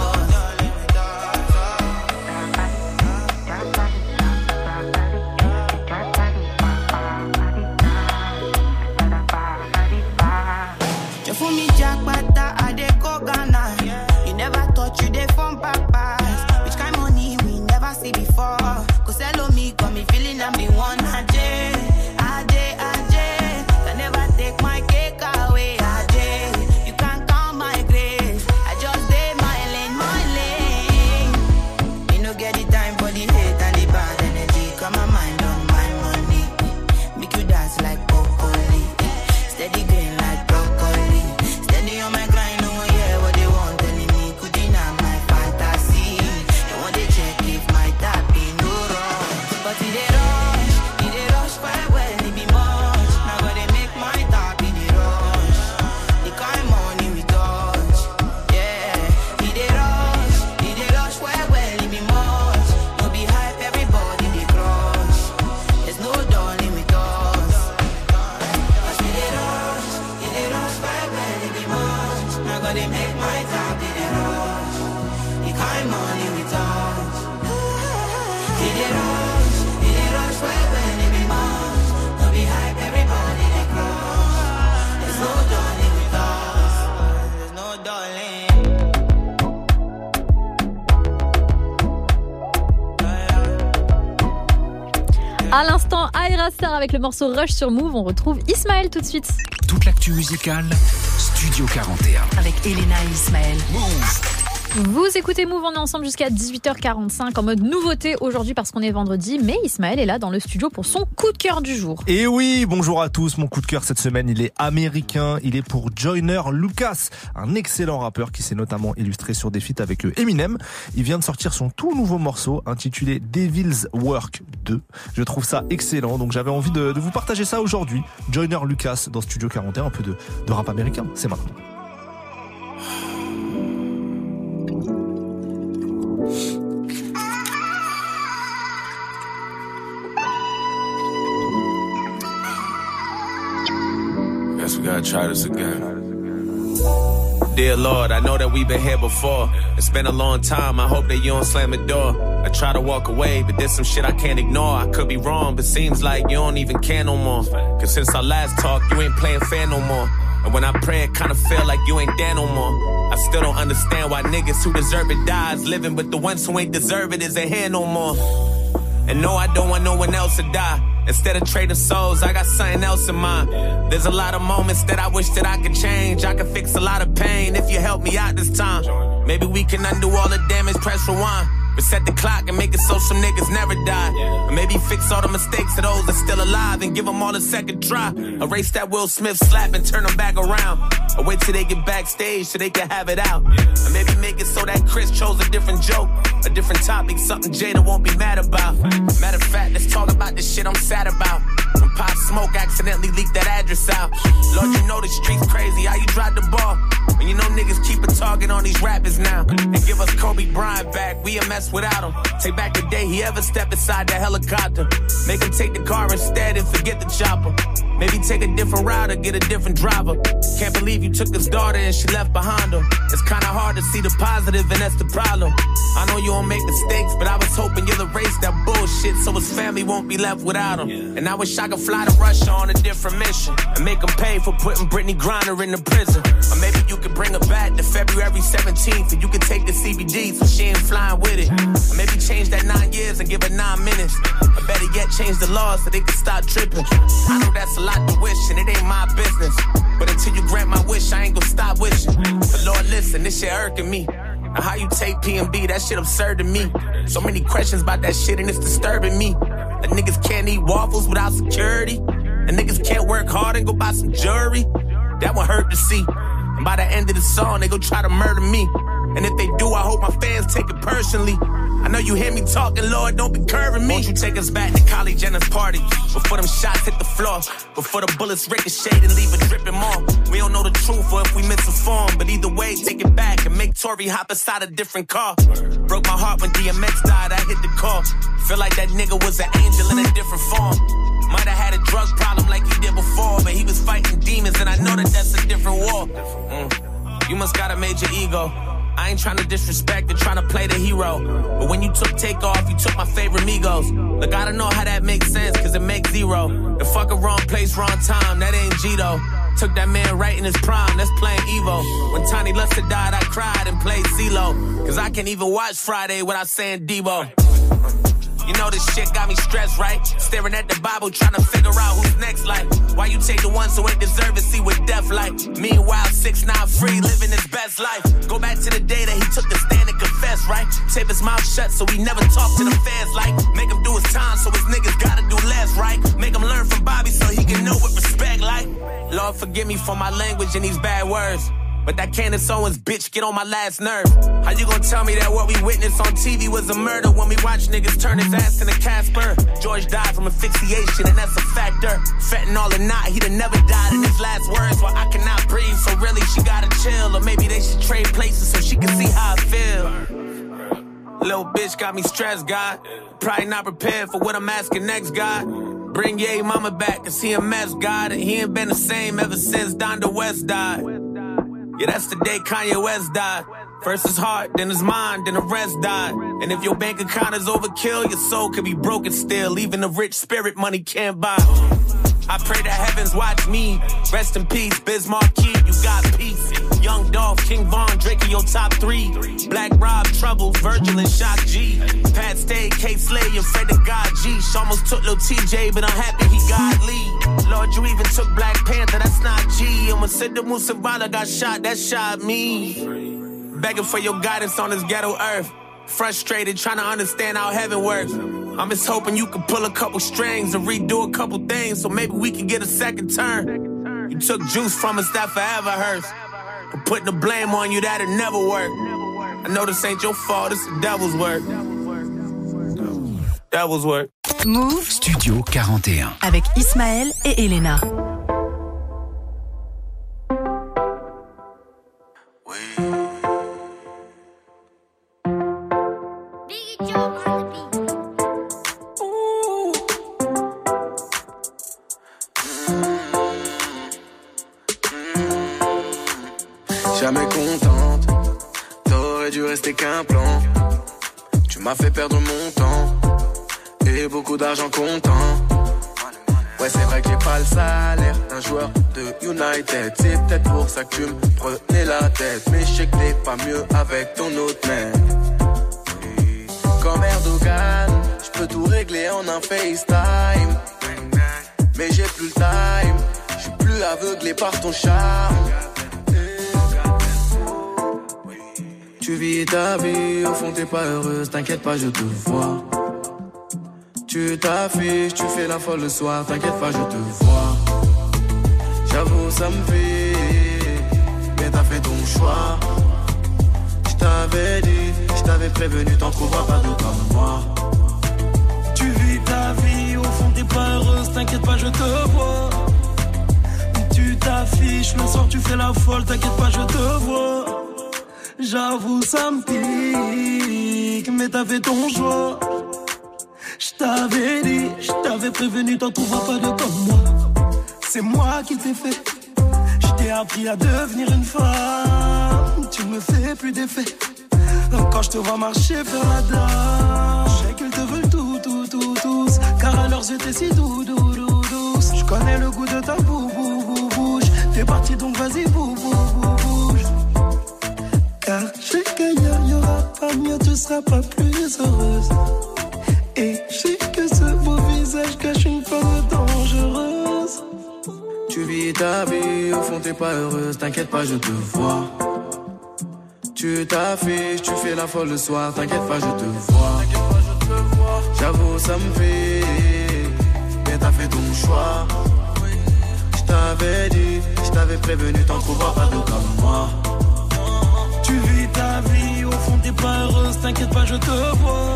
For me, Jack Bata, I dey go Ghana. You never thought you dey from papas. Which kind money we never see before. Cause hello me, got me feeling I'm the one. Ajay, Ajay, Ajay. Can never take my cake away. Ajay, you can't count my grace. I just did my lane, my lane. You no get the time for the hate and the bad energy. Got my mind on my money. Make you dance like broccoli. Steady green like broccoli. Steady on my grind, oh yeah, what they want telling me could deny my fantasy. They want to check if my tap ain't no wrong. But it they rush, it they rush quite well, it be much. Now gotta make my tap in the rush. The kind money we touch, yeah. It they rush, it they rush quite well, it be much. No be hype, everybody they crush. There's no darling with us. Cause we they rush, it they rush quite well, it be much. Now gotta make my tap in the rush. The kind money Ayra Starr avec le morceau Rush sur Move. On retrouve Ismaël tout de suite. Toute l'actu musicale, Studio quarante et un. Avec Elena et Ismaël. Move. Vous écoutez Move, on est ensemble jusqu'à dix-huit heures quarante-cinq en mode nouveauté aujourd'hui parce qu'on est vendredi, mais Ismaël est là dans le studio pour son coup de cœur du jour. Et oui, bonjour à tous, mon coup de cœur cette semaine, il est américain, il est pour Joyner Lucas, un excellent rappeur qui s'est notamment illustré sur des feats avec Eminem. Il vient de sortir son tout nouveau morceau intitulé Devil's Work deux. Je trouve ça excellent, donc j'avais envie de, de vous partager ça aujourd'hui. Joyner Lucas dans Studio quarante et un, un peu de, de rap américain, c'est maintenant. Guess we gotta try this again. Dear Lord, I know that we've been here before. It's been a long time, I hope that you don't slam the door. I try to walk away, but there's some shit I can't ignore. I could be wrong, but seems like you don't even care no more. Cause since our last talk, you ain't playing fair no more. And when I pray, it kinda feel like you ain't there no more. I still don't understand why niggas who deserve it dies living, but the ones who ain't deserve it isn't here no more. And no, I don't want no one else to die. Instead of trading souls, I got something else in mind. There's a lot of moments that I wish that I could change. I could fix a lot of pain if you help me out this time. Maybe we can undo all the damage, press rewind. Reset the clock and make it so some niggas never die. Or maybe fix all the mistakes of those that's still alive and give them all a second try. Erase that Will Smith slap and turn them back around. Or wait till they get backstage so they can have it out. Or maybe make it so that Chris chose a different joke, a different topic, something Jada won't be mad about. Matter of fact, let's talk about the shit I'm sad about. When Pop Smoke accidentally leaked that address out. Lord, you know the streets crazy, how you drive the ball? When you know niggas keep a target on these rappers now. And give us Kobe Bryant back, we a mess without him. Take back the day he ever stepped inside that helicopter. Make him take the car instead and forget the chopper. Maybe take a different route or get a different driver. Can't believe you took his daughter and she left behind him. It's kinda hard to see the positive and that's the problem. I know you don't make mistakes, but I was hoping you'll erase that bullshit so his family won't be left without him. And I wish I could fly to Russia on a different mission and make him pay for putting Brittany Griner in the prison. Or maybe you could bring her back to February seventeenth and you could take the C B D so she ain't flying with it. Or maybe change that nine years and give her nine minutes. Or better yet, change the laws so they can stop tripping. I know that's a lot to wish and it ain't my business, but until you grant my wish, I ain't gonna stop wishing. But Lord, listen, this shit irking me. Now how you take P and B, that shit absurd to me. So many questions about that shit and it's disturbing me. That niggas can't eat waffles without security. And niggas can't work hard and go buy some jewelry. That one hurt to see. And by the end of the song, they gon' try to murder me. And if they do, I hope my fans take it personally. I know you hear me talking, Lord, don't be curving me. Won't you take us back to Kylie Jenner's party? Before them shots hit the floor, before the bullets ricochet and leave it dripping more. We don't know the truth or if we misinformed, but either way, take it back and make Tory hop inside a different car. Broke my heart when D M X died, I hit the call. Feel like that nigga was an angel in a different form. Might have had a drug problem like he did before, but he was fighting demons and I know that that's a different war. Mm. You must got a major ego. I ain't tryna disrespect and tryna play the hero. But when you took Takeoff, you took my favorite Migos. Look, I don't know how that makes sense, cause it makes zero. The fucking wrong place, wrong time, that ain't G though. Took that man right in his prime, that's playing Evo. When Tiny Luster died, I cried and played CeeLo. Cause I can't even watch Friday without saying Debo. You know this shit got me stressed, right? Staring at the Bible, trying to figure out who's next, like. Why you take the ones who ain't deserve it, see what death like. Meanwhile, six nine free, living his best life. Go back to the day that he took the stand and confessed, right? Tape his mouth shut so he never talked to the fans, like. Make him do his time so his niggas gotta do less, right? Make him learn from Bobby so he can know what respect, like. Lord, forgive me for my language and these bad words. But that Candace Owens bitch get on my last nerve. How you gonna tell me that what we witnessed on T V was a murder when we watch niggas turn his ass into Casper? George died from asphyxiation and that's a factor. Fentanyl or not, he'd have never died in his last words. Well, I cannot breathe, so really she gotta chill. Or maybe they should trade places so she can see how I feel. Little bitch got me stressed, God. Probably not prepared for what I'm asking next, God. Bring Ye mama back, cause he a mess, God. And he ain't been the same ever since Donda West died. Yeah, that's the day Kanye West died. First his heart, then his mind, then the rest died. And if your bank account is overkill, your soul could be broken still. Even the rich spirit money can't buy. I pray the heavens watch me. Rest in peace, Biz Marquis, you got peace. Young Dolph, King Von, Drake in your top three. Black Rob, Trouble, Virgil and Shock G. Pat Stay, K Slay, and Fred the God G. She almost took Lil T J, but I'm happy he got Lee. Lord, you even took Black Panther, that's not G. And when Sidney Musabala got shot, that shot me. Begging for your guidance on this ghetto earth. Frustrated, trying to understand how heaven works. I'm just hoping you can pull a couple strings and redo a couple things so maybe we can get a second turn. You took juice from us that forever hurts. But putting the blame on you, that'll never work. I know this ain't your fault, it's the devil's work. Devil's work. Move Studio quarante et un avec Ismaël et Elena. Jamais contente, t'aurais dû rester qu'un plan. Tu m'as fait perdre mon temps et beaucoup d'argent comptant. Ouais, c'est vrai que j'ai pas le salaire d'un joueur de United. C'est peut-être pour ça que tu me prenais la tête. Mais je sais que t'es pas mieux avec ton autre mec. Oui. Comme Erdogan, je peux tout régler en un FaceTime. Mais j'ai plus le time, je suis plus aveuglé par ton charme. Tu vis ta vie, au fond t'es pas heureuse, t'inquiète pas, je te vois. Tu t'affiches, tu fais la folle le soir, t'inquiète pas, je te vois. J'avoue, ça me fait, mais t'as fait ton choix. Je t'avais dit, je t'avais prévenu, t'en trouveras pas d'autre comme moi. Tu vis ta vie, au fond t'es pas heureuse, t'inquiète pas, je te vois. Tu t'affiches, le soir tu fais la folle, t'inquiète pas, je te vois. J'avoue, ça me pique, mais t'as fait ton choix. J't'avais dit, j't'avais prévenu, t'en trouveras pas de comme moi. C'est moi qui t'ai fait. J't'ai appris à devenir une femme. Tu me fais plus d'effet. Quand j'te vois marcher vers la dame, je sais qu'ils te veulent tout, tout, tout, tous. Car à leurs yeux t'es si doux, doux, doux, douce. J'connais le goût de ta bou, bou, bou, bouche. T'es parti donc vas-y, bou, bou, bou, bouge. Car je sais qu'ailleurs y'aura pas mieux, tu seras pas plus heureuse. Et je sais que ce beau visage cache une femme dangereuse. Tu vis ta vie, au fond t'es pas heureuse, t'inquiète pas, je te vois. Tu t'affiches, tu fais la folle le soir, t'inquiète pas, je te vois. J'avoue, ça me fait, mais t'as fait ton choix. Je t'avais dit, je t'avais prévenu, t'en trouveras pas d'autre comme moi. Tu vis ta vie, au fond t'es pas heureuse, t'inquiète pas, je te vois.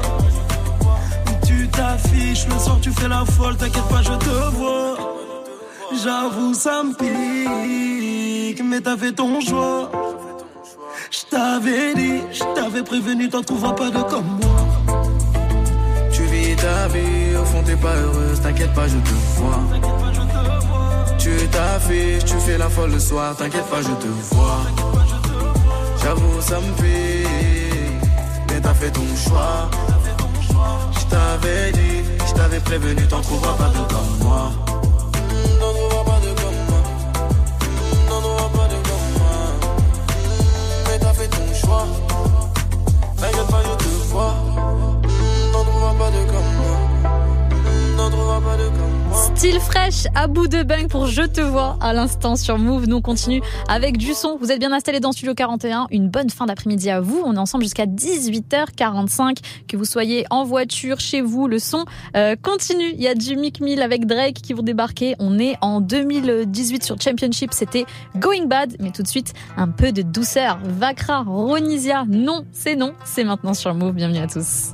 Tu t'affiches, le soir tu fais la folle, t'inquiète pas, je te vois. J'avoue, ça me pique, mais t'as fait ton choix. J't'avais dit, j't'avais prévenu, t'en trouveras pas de comme moi. Tu vis ta vie, au fond t'es pas heureuse, t'inquiète pas, je te vois. Tu t'affiches, tu fais la folle le soir, t'inquiète pas, je te vois. J'avoue, ça me pique, mais t'as fait ton choix. Je t'avais dit, je t'avais prévenu, t'en trouveras pas de comme moi. T'en trouveras pas de comme moi. T'en trouveras pas de comme moi. Mais t'as fait ton choix. T'inquiète pas, je te vois. T'en trouveras pas de comme moi. T'en trouveras pas de comme moi. Style fraîche à bout de bang pour Je te vois à l'instant sur Move. Nous on continue avec du son. Vous êtes bien installés dans Studio quarante et un. Une bonne fin d'après-midi à vous. On est ensemble jusqu'à dix-huit heures quarante-cinq. Que vous soyez en voiture, chez vous, le son euh, continue. Il y a du Meek Mill avec Drake qui vont débarquer. On est en deux mille dix-huit sur Championship. C'était Going Bad. Mais tout de suite, un peu de douceur. Vakra, Ronisia. Non, c'est non. C'est maintenant sur Move. Bienvenue à tous.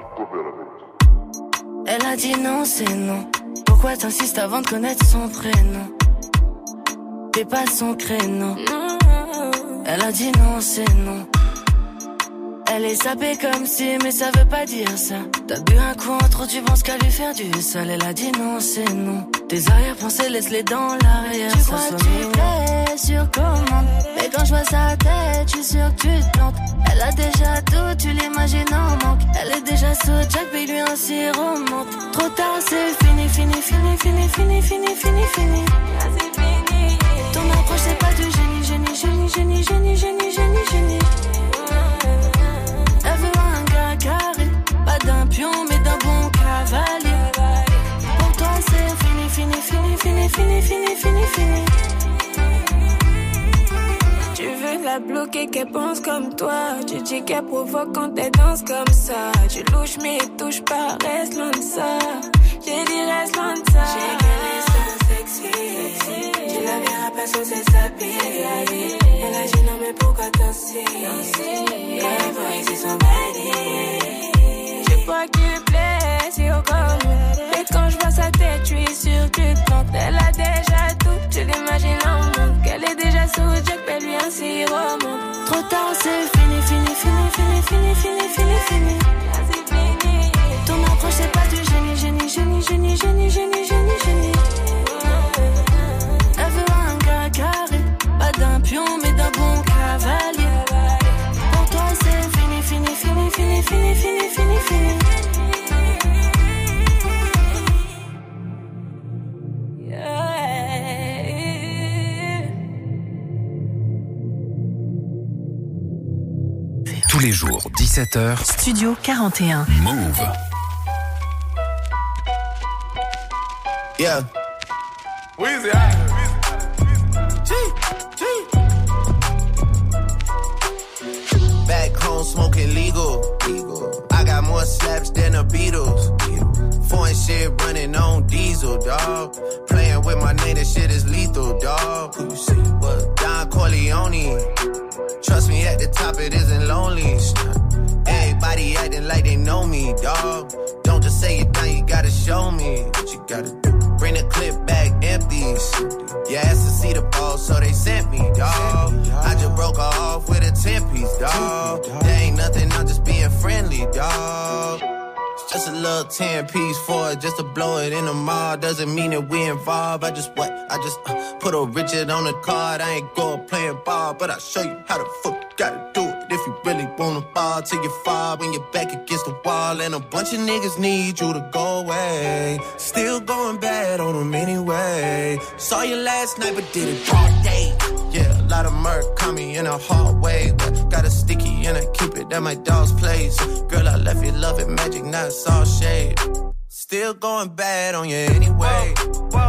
Elle a dit non, c'est non. Pourquoi t'insistes avant de connaître son prénom? T'es pas son créneau. Elle a dit non, c'est non. Elle est sapée comme si, mais ça veut pas dire ça. T'as bu un coup en trop, tu penses qu'à lui faire du sale. Elle a dit non, c'est non. Tes arrière-pensées, laisse-les dans l'arrière. Tu crois que tu plais sur commande, mais quand je vois sa tête, je suis sûr que tu te plantes. Elle a déjà tout, tu l'imagines en manque. Elle est déjà sous Jack, mais lui un sirop monte. Trop tard, c'est fini, fini, fini, fini, fini, fini, fini, fini. Ton approche, c'est pas du génie, génie, génie, génie, génie, génie, génie, génie. Elle veut un gars carré, pas d'un pion, mais d'un bon cavalier. Pour toi, c'est fini, fini, fini, fini, fini, fini, fini, fini. Tu veux la bloquer, qu'elle pense comme toi. Tu dis qu'elle provoque quand elle danse comme ça. Tu louches mais touche pas, reste loin de ça. J'ai dit reste loin de ça. J'ai qu'elle est so sexy. Tu la verras pas sous ses habits. Elle a dit non mais pourquoi danser? Quand elle voit ici son body. Tu crois qu'il plaît, c'est au corps. Et quand je vois sa tête, tu es sûr que tu te plantes. Elle a déjà tout, tu l'imagines en monde. Qu'elle est déjà sous Jack, mais lui un sirop monte. Trop tard, c'est fini, fini, fini, fini, fini, fini, fini, fini. Ton approche, c'est pas du génie, génie, génie, génie, génie, génie, génie, génie. Elle veut un gars carré, pas d'un pion, mais d'un bon cavalier. Pour toi, c'est fini, fini, fini, fini, fini, fini, fini, fini. Tous les jours, dix-sept heures. Studio quarante et un. Move. Yeah. Weezy, G, G. Back home smoking legal. legal. I got more slaps than the Beatles. Foreign shit running on diesel, dawg. Playing with my name, that shit is lethal, dawg. Who you see? What? Don Corleone. Trust me, at the top it isn't lonely. Everybody acting like they know me, dawg. Don't just say it down, you gotta show me what you gotta do. Bring the clip back empty. You asked to see the ball, so they sent me, dawg. I just broke her off with a ten piece, dawg. There ain't nothing, I'm just being friendly, dawg. Just a little ten piece for it, just to blow it in the mall. Doesn't mean that we involved. I just what? I just uh, put a Richard on the card. I ain't go playing ball, but I'll show you how the fuck you gotta do it. If you really wanna fall till you fall when you're back against the wall. And a bunch of niggas need you to go away. Still going bad on them anyway. Saw you last night, but did it all day. Yeah, a lot of murk caught me in a hard way. But got a sticky and I keep it at my dog's place. Girl, I left you loving magic, not all shade. Still going bad on you anyway. Whoa,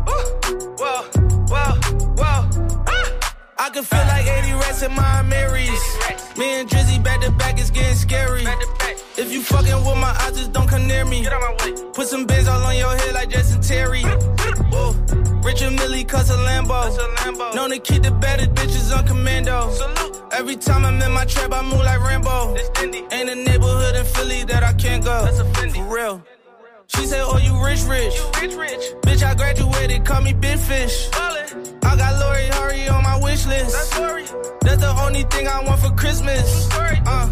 whoa, whoa, whoa, whoa. Ah! I can feel like eighty rats in my Marys. Me and Drizzy back to back, it's getting scary. If you fucking with my eyes, just don't come near me. Put some bands all on your head like Jason Terry. Whoa. Richard Millie cuss a Lambo. Known to keep the better bitches on commando. Every time I'm in my trap, I move like Rambo. Ain't a neighborhood in Philly that I can't go. For real. She say, oh, you rich, rich. You rich, rich. Bitch, I graduated, call me Big Fish. Ballin'. I got Lori Hurry on my wish list. That's Lori. That's the only thing I want for Christmas. Uh.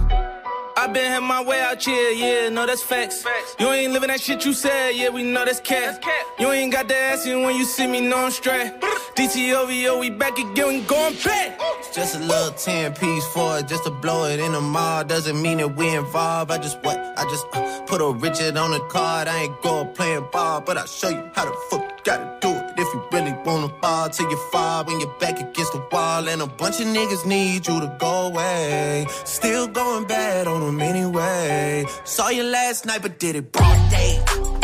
I been had my way out here, yeah, no, that's facts. facts. You ain't living that shit you said, yeah, we know that's cat. You ain't got the ass in when you see me, no, I'm straight. D T O V O, we back again, we going back. It's just a little ten piece for it, just to blow it in the mall. Doesn't mean that we involved. I just what? I just uh, put a Richard on the card. I ain't go playing ball, but I'll show you how the fuck you gotta do it. If you really wanna fall till you fall when you're back against the wall. And a bunch of niggas need you to go away. Still going bad on them anyway. Saw you last night, but did it broad day.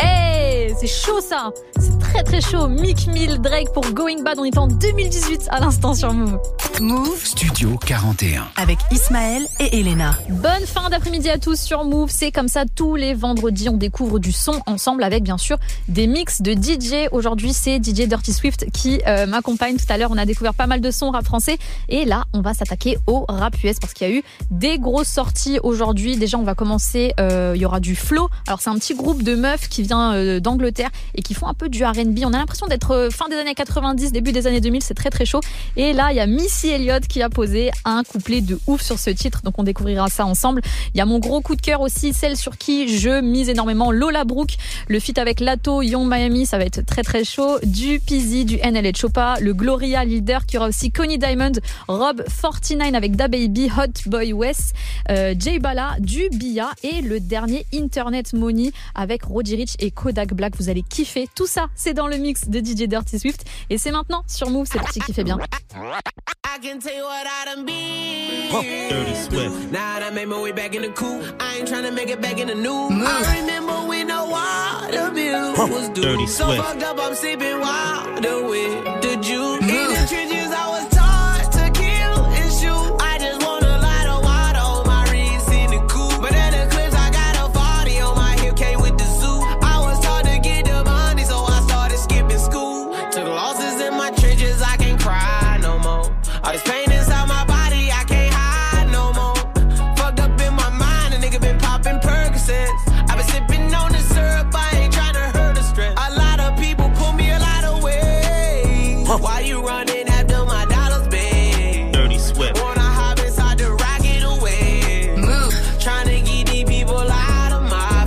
Hey, c'est chaud ça. C'est très très chaud. Meek Mill, Drake pour Going Bad. On est en deux mille dix-huit à l'instant sur Move. Move Studio quarante et un. Avec Ismaël et Elena. Bonne fin d'après-midi à tous sur Move. C'est comme ça tous les vendredis. On découvre du son ensemble avec bien sûr des mix de D J. Aujourd'hui, c'est D J Dirty Swift qui euh, m'accompagne. Tout à l'heure, on a découvert pas mal de sons rap français. Et là, on va s'attaquer au rap U S parce qu'il y a eu des grosses sorties aujourd'hui. Déjà, on va commencer. Euh, il y aura du Flow. Alors, c'est un petit groupe de meufs qui vient euh, d'Angleterre et qui font un peu du R and and B. On a l'impression d'être fin des années quatre-vingt-dix, début des années deux mille, c'est très très chaud. Et là, il y a Missy Elliott qui a posé un couplet de ouf sur ce titre, donc on découvrira ça ensemble. Il y a mon gros coup de cœur aussi, celle sur qui je mise énormément, Lola Brooke, le feat avec Lato, Young Miami, ça va être très très chaud. Du Peasy, du N L E Choppa, le Gloria Leader, qui aura aussi Connie Diamond, Rob quarante-neuf avec DaBaby, Hot Boy West, euh, Jay Bala, du Bia et le dernier Internet Money avec Roddy Ricch et Kodak Black. Vous allez kiffer. Tout ça, c'est dans le mix de D J Dirty Swift et c'est maintenant sur Move, c'est parti, kiffez bien. I can tell you what I done been. Dirty Swift. Now that made my way back in the cool. I ain't tryna make it back in the new. Move. I remember when the water bill was due. Dirty so Swift. Fucked up, I'm sipping water with the juice. Move. In the trenches, I was taught to kill and shoot. I just want a lot of water on my wrist in the coupe. But in the clips, I got a forty on my hip, came with the zoo. I was taught to get the money, so I started skipping school. Took losses in my trenches, I can't cry no more. All this pain inside my body, I can't hide no more. Fucked up in my mind, a nigga been popping Percocets. I been sipping on the syrup, I ain't tryna hurt the stress. A lot of people pull me a lot of ways. Why you running after my dollars, babe? Dirty Swift. Wanna hop inside the rocket away. Move. Tryna get these people out of my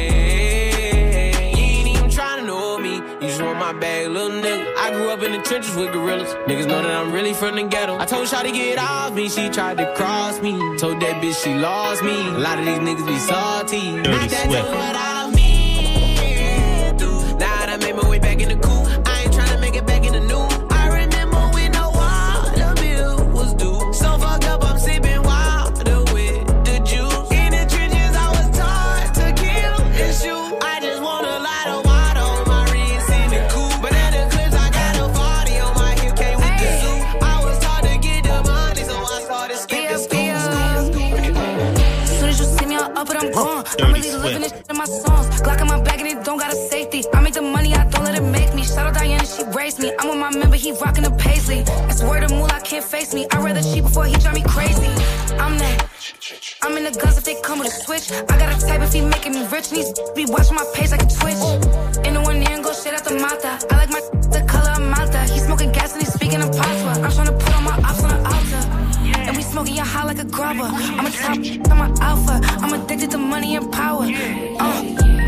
face. You ain't even tryna know me, you just want my bag, little nigga. I grew up in the trenches with gorillas. Niggas know that I'm really from the ghetto. I told Shawty get off me, she tried to cross me. Told that bitch she lost me. A lot of these niggas be salty. Dirty Swift. What I mean, through. Now that I made my way back in the cool. I ain't tryna make it back in the new. I remember when the water bill was due. So fucked up, I'm sipping water with the juice. In the trenches, I was taught to kill and shoot. I just want a lot of water on my wrist in the coupe. But in the clips, I got a forty on my hip, came with the zoo. I was taught to get the money, so I started skipping school. As soon as you see me, I'm up and I'm gone. I'm really living this shit in my songs. Glock in my bag and it don't got a safety. I make the money, I don't let it make me. Shout out Diana, she raised me. I'm with my member, he rockin' the Paisley. That's word of moolah, can't face me. I'd rather cheat before he drive me crazy. I'm that. I'm in the guns if they come with a switch. I got a type if he making me rich. And he's be watching my page like a twitch. In the one ear and go shit out the mata. I like my the color of Malta. He's smoking gas and he's speaking in patois. I'm tryna put all my ops on the altar. And we smoking your high like a grubber. I'm a top, I'm a alpha. I'm addicted to money and power. Uh.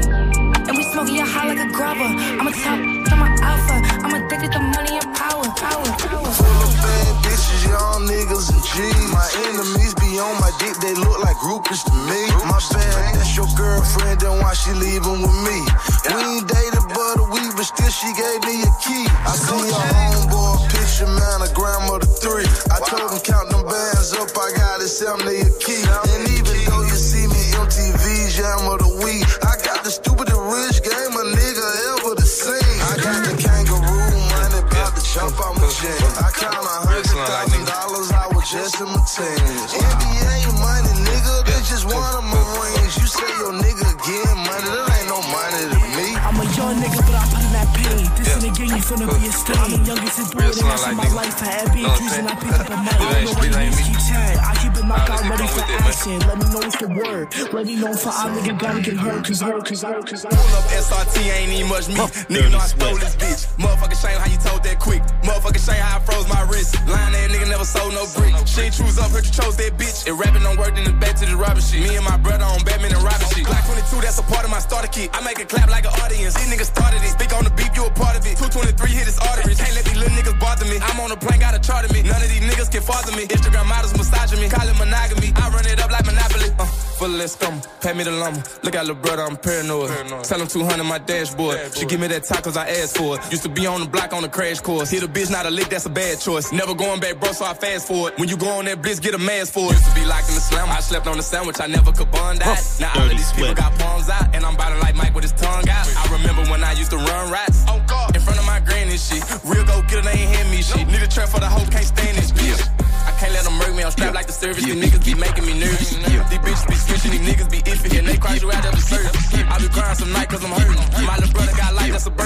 And we smoking your high like a grubber. I'm a top, I'm a alpha. I'm addicted to money and power. Power, power. Full of bad bitches, young niggas and G's. My enemies be on my dick, they look like groupies to me. My bad, that's your girlfriend, then why she leaving with me? We ain't dated but a week, but still she gave me a key. I see your homeboy picture, man, a grandmother three. I told him count them bands up, I got it, seventy a key. And even though you see me M T V, jam of the week, I got the stupidest rich game a nigga ever to see. I got the kangaroo money, about to jump out my chin. I count a hundred thousand dollars, I was just in my teens. N B A money, nigga, that's just one of my rings. You say your nigga getting money, that ain't no money to me. I'm a young nigga, but I put in that pain. This in the game, you finna be a stain. I'm the youngest and doing it in my life. I had big juice and I pick up a mic. I don't know what it is, keep chatting. I keep it knocked out, ready for action. Let me know what's the word. Let me know if I nigga gotta get hurt, cause hurt, cause hurt, cause hurt. Pull up S R T, ain't even much me. Nigga know I stole this bitch. Motherfucker shame how you told that quick. Motherfucker shame how I froze my wrist. Lying that nigga never sold no brick. She ain't choose up, heard you chose that bitch. And rapping don't work, then it's back to the robbing shit. Me and my brother on Batman and robbing shit. Glock twenty-two, that's a part of my starter kit. I make it clap like an audience. These niggas started it. Speak on the beat, you a part of it. two twenty-three hit his arteries. Can't let these little niggas bother me. I'm on a plane, got a chart of me. None of these niggas can father me. Instagram models massaging me. Call it monogamy. I run it up like Monopoly. Uh, full of that scum. Pay me the lumber. Look at little brother, I'm paranoid. paranoid. Tell him two hundred my dashboard. dashboard. She give me that top cause I asked for it. Used to be on the block on the crash course. Hit a bitch, not a lick, that's a bad choice. Never going back, bro, so I fast forward. When you go on that blitz, get a mask for it. Used to be locked in the slam. I slept on the sandwich, I never could bond out. Now all of these people got palms out. And I'm biting like Mike with his tongue out. I remember when I used to run rats. Oh God. In front of my granny and shit. Real go get it, they ain't hand me shit. Need a trap for the hoe, can't stand this bitch. I can't let them murk me, I'm strapped like the service. These niggas be making me nervous. These bitches be switching, these niggas be iffy. And they cross you out of the service. I be crying some night cause I'm hurting. My little brother got life, that's a burden.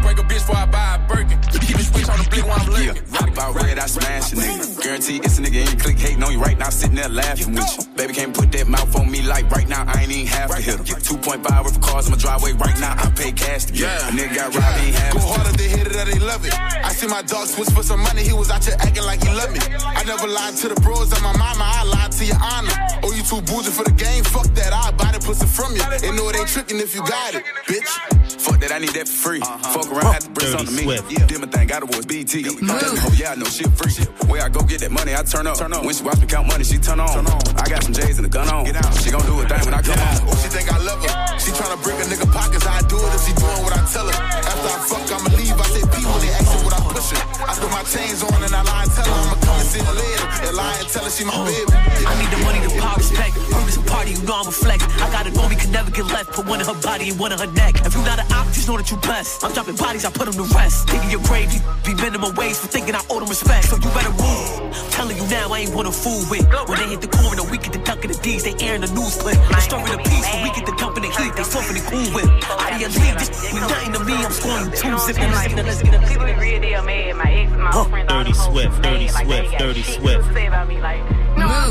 break a bitch before I buy a Birkin. Keep the switch on the blick while I'm looking. Yeah, rock about red, I smash a nigga. Guarantee it's a nigga in your clique hating on you right now, sitting there laughing with you. Baby can't put that mouth on me like right now, I ain't even half to hit him. two point five worth of cars in my driveway right now, I pay cash to get yeah. A nigga got robbed, he ain't half. Go harder, they hit it or they love it. I see my dog switch for some money, he was out here acting like he loved me. I never lied to the bros of my mama, I lied to your honor. Oh, you too bougie for the game, fuck that, I'll buy the pussy from you. They know it ain't tricking if you got it, bitch. Fuck that, I need that for free. Uh-huh. Fuck around, have to bring something to me. Yeah. Did my thing, got awards, B T. Oh, yeah, I know shit free. Where I go get that money, I turn up. Turn up. When she watch me count money, she turn on. Turn on. I got some J's and a gun on. Get out. She gon' do a thing when I come yeah. on. Oh, she think I love her. She tryna break a nigga pockets, I do it if she doing what I tell her. After I fuck, I'ma leave. I say P when they askin' what I pushin'. I throw my chains on and I lie and tell her I'ma come and see her later. And lie and tell her she my baby. Yeah. I need the money to pop respect. Prove this a party, you know I'm a flex. I got a know we can never get left. Put one in her body and one in her neck. If you not an op, just know that you blessed. I'm dropping bodies, I put them to rest. Digging your grave, you be minimum wage for thinking I owe them respect. So you better move. I'm telling you now, I ain't wanna fool with. When they hit the corner, we get the duck of the D's, they airing the news clip. The story of peace, when we get the dump in the heat, they something cool with. Out of your league, this mean nothing to me, I'm scoring two zipping like let's get a people in real deal mad. My ex and my friends Dirty Swift, Dirty Swift, Dirty Swift. Say about me like, move.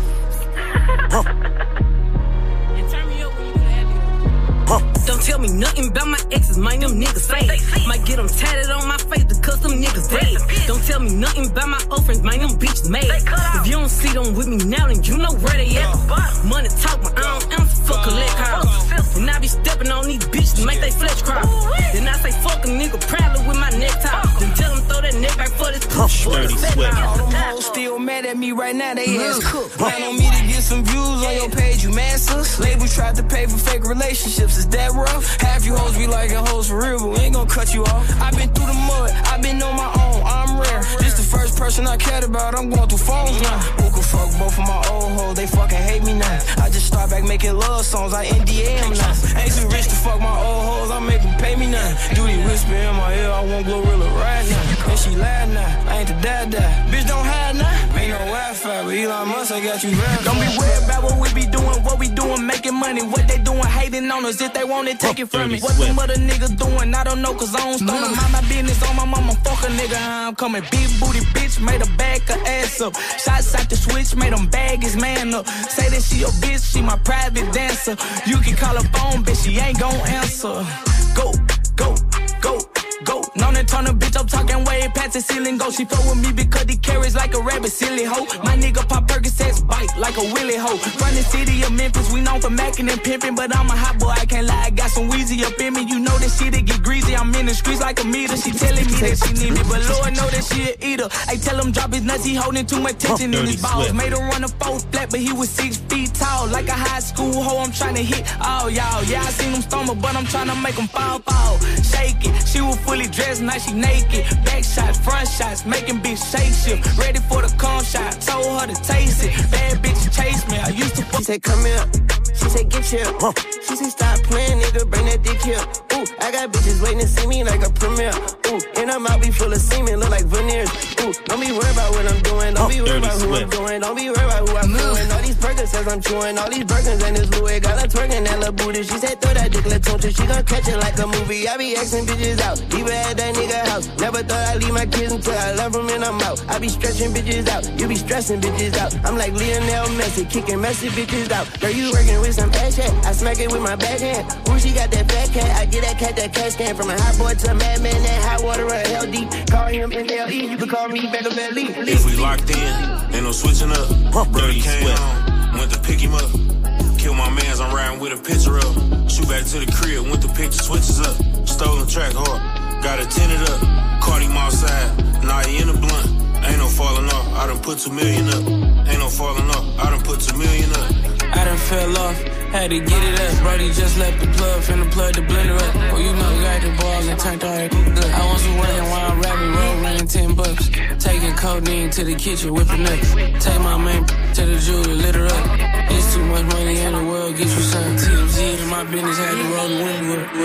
Don't tell me nothing about my exes, mind them niggas say. Might get them tatted on my face because them niggas dead. Don't tell me nothing about my old friends, mind them bitches made. If you don't see them with me now, then you know where they at. Money talk, but I don't answer for collect calls. And I be stepping on these bitches to make they flesh cry. Then I say fuck a nigga proudly with my necktie. Then tell them throw that neck back for this push. Dirty Swift. All them hoes still mad at me right now, they ass cooked. Plan on me to get some views on your page, you masters. Label tried to pay for fake relationships, is that rough? Half you hoes be liking hoes for real, but we ain't gon' cut you off. I been through the mud, I been on my own, I'm rare. This the first person I cared about, I'm going through phones now. Who could fuck both of my old hoes, they fucking hate me now. I just start back making love songs, I N D A them now. Ain't too rich to fuck my old hoes, I make them pay me now. Duty whisper in my ear, I want Glorilla right now. And she laugh now, I ain't the dad dad. Bitch don't hide now, ain't no Wi-Fi, but Elon Musk, I got you verified. Don't be worried about what we be doing, what we doing, making money. What they doing, hating on us, if they want it, take it from me. What them other niggas doing, I don't know, cause I don't stone them. Mind my business on my mama, fuck a nigga, how I'm coming. Big booty bitch, made her back her ass up. Shots out the switch, made them bag his man up. Say that she your bitch, she my private dancer. You can call her phone, bitch, she ain't gon' answer. Go, go, go. Go, known to turn a bitch up, talking way past the ceiling. Go, she fuck with me because he carries like a rabbit, silly hoe. My nigga pop Percocets, bite like a willy hoe. From the city of Memphis, we known for macking and pimping, but I'm a hot boy, I can't lie. I got some Weezy up in me, you know that shit it get greasy. I'm in the streets like a meter. She telling me that she need me, but Lord know that she a eater. I tell him drop his nuts, he holding too much tension in his balls. Made him run a four flat, but he was six feet tall, like a high school hoe. I'm trying to hit all y'all. Yeah, I seen him stumble, but I'm trying to make him fall, fall. Shake it, she was fully dressed, now she naked. Back shots, front shots, making bitch shake shift. Ready for the cum shot, told her to taste it. Bad bitch chase me, I used to fuck. She said come here, she said get here. She said stop playing, nigga, bring that dick here. Ooh, I got bitches waiting to see me like a premiere. Ooh, and her mouth be full of semen, look like veneers. Ooh, don't be worried about what I'm doing, don't be worried about who I'm doing, don't be worried about who I'm doing. All these burgers says I'm chewing, all these burgers and this Louis. Got her twerking that little booty, she said throw that dick, let's touch it. She gon' catch it like a movie, I be asking bitches out, even at that nigga house. Never thought I'd leave my kids until I love them and I'm out. I be stretching bitches out, you be stressing bitches out. I'm like Lionel Messi, kicking messy bitches out. Girl, you working with some ass shit, I smack it with my backhand. Ooh, she got that fat cat, I get that cat that cash can. From a hot boy to a madman, that hot water run hell deep. Call him in L E, you can call me back up at Lee. If we locked in, ain't no switching up. Dirty came home, went to pick him up. Kill my mans, I'm riding with a picture up. Shoot back to the crib, went to pick the switches up. Stolen track hard, got it tinted up. Caught him outside, now he in the blunt. Ain't no falling off, I done put two million up. Ain't no falling off, I done put two million up. I done fell off, had to get it up. Brody just left the plug, finna plug the blender up. Well, you know, got the balls and turned alright good. I want some working while I'm rapping, roll running ten bucks. Taking codeine to the kitchen, whipping up. Take my main to the jewelry, lit her up. It's too much money in the world, get you something. T M Z in my business, had to roll the window up.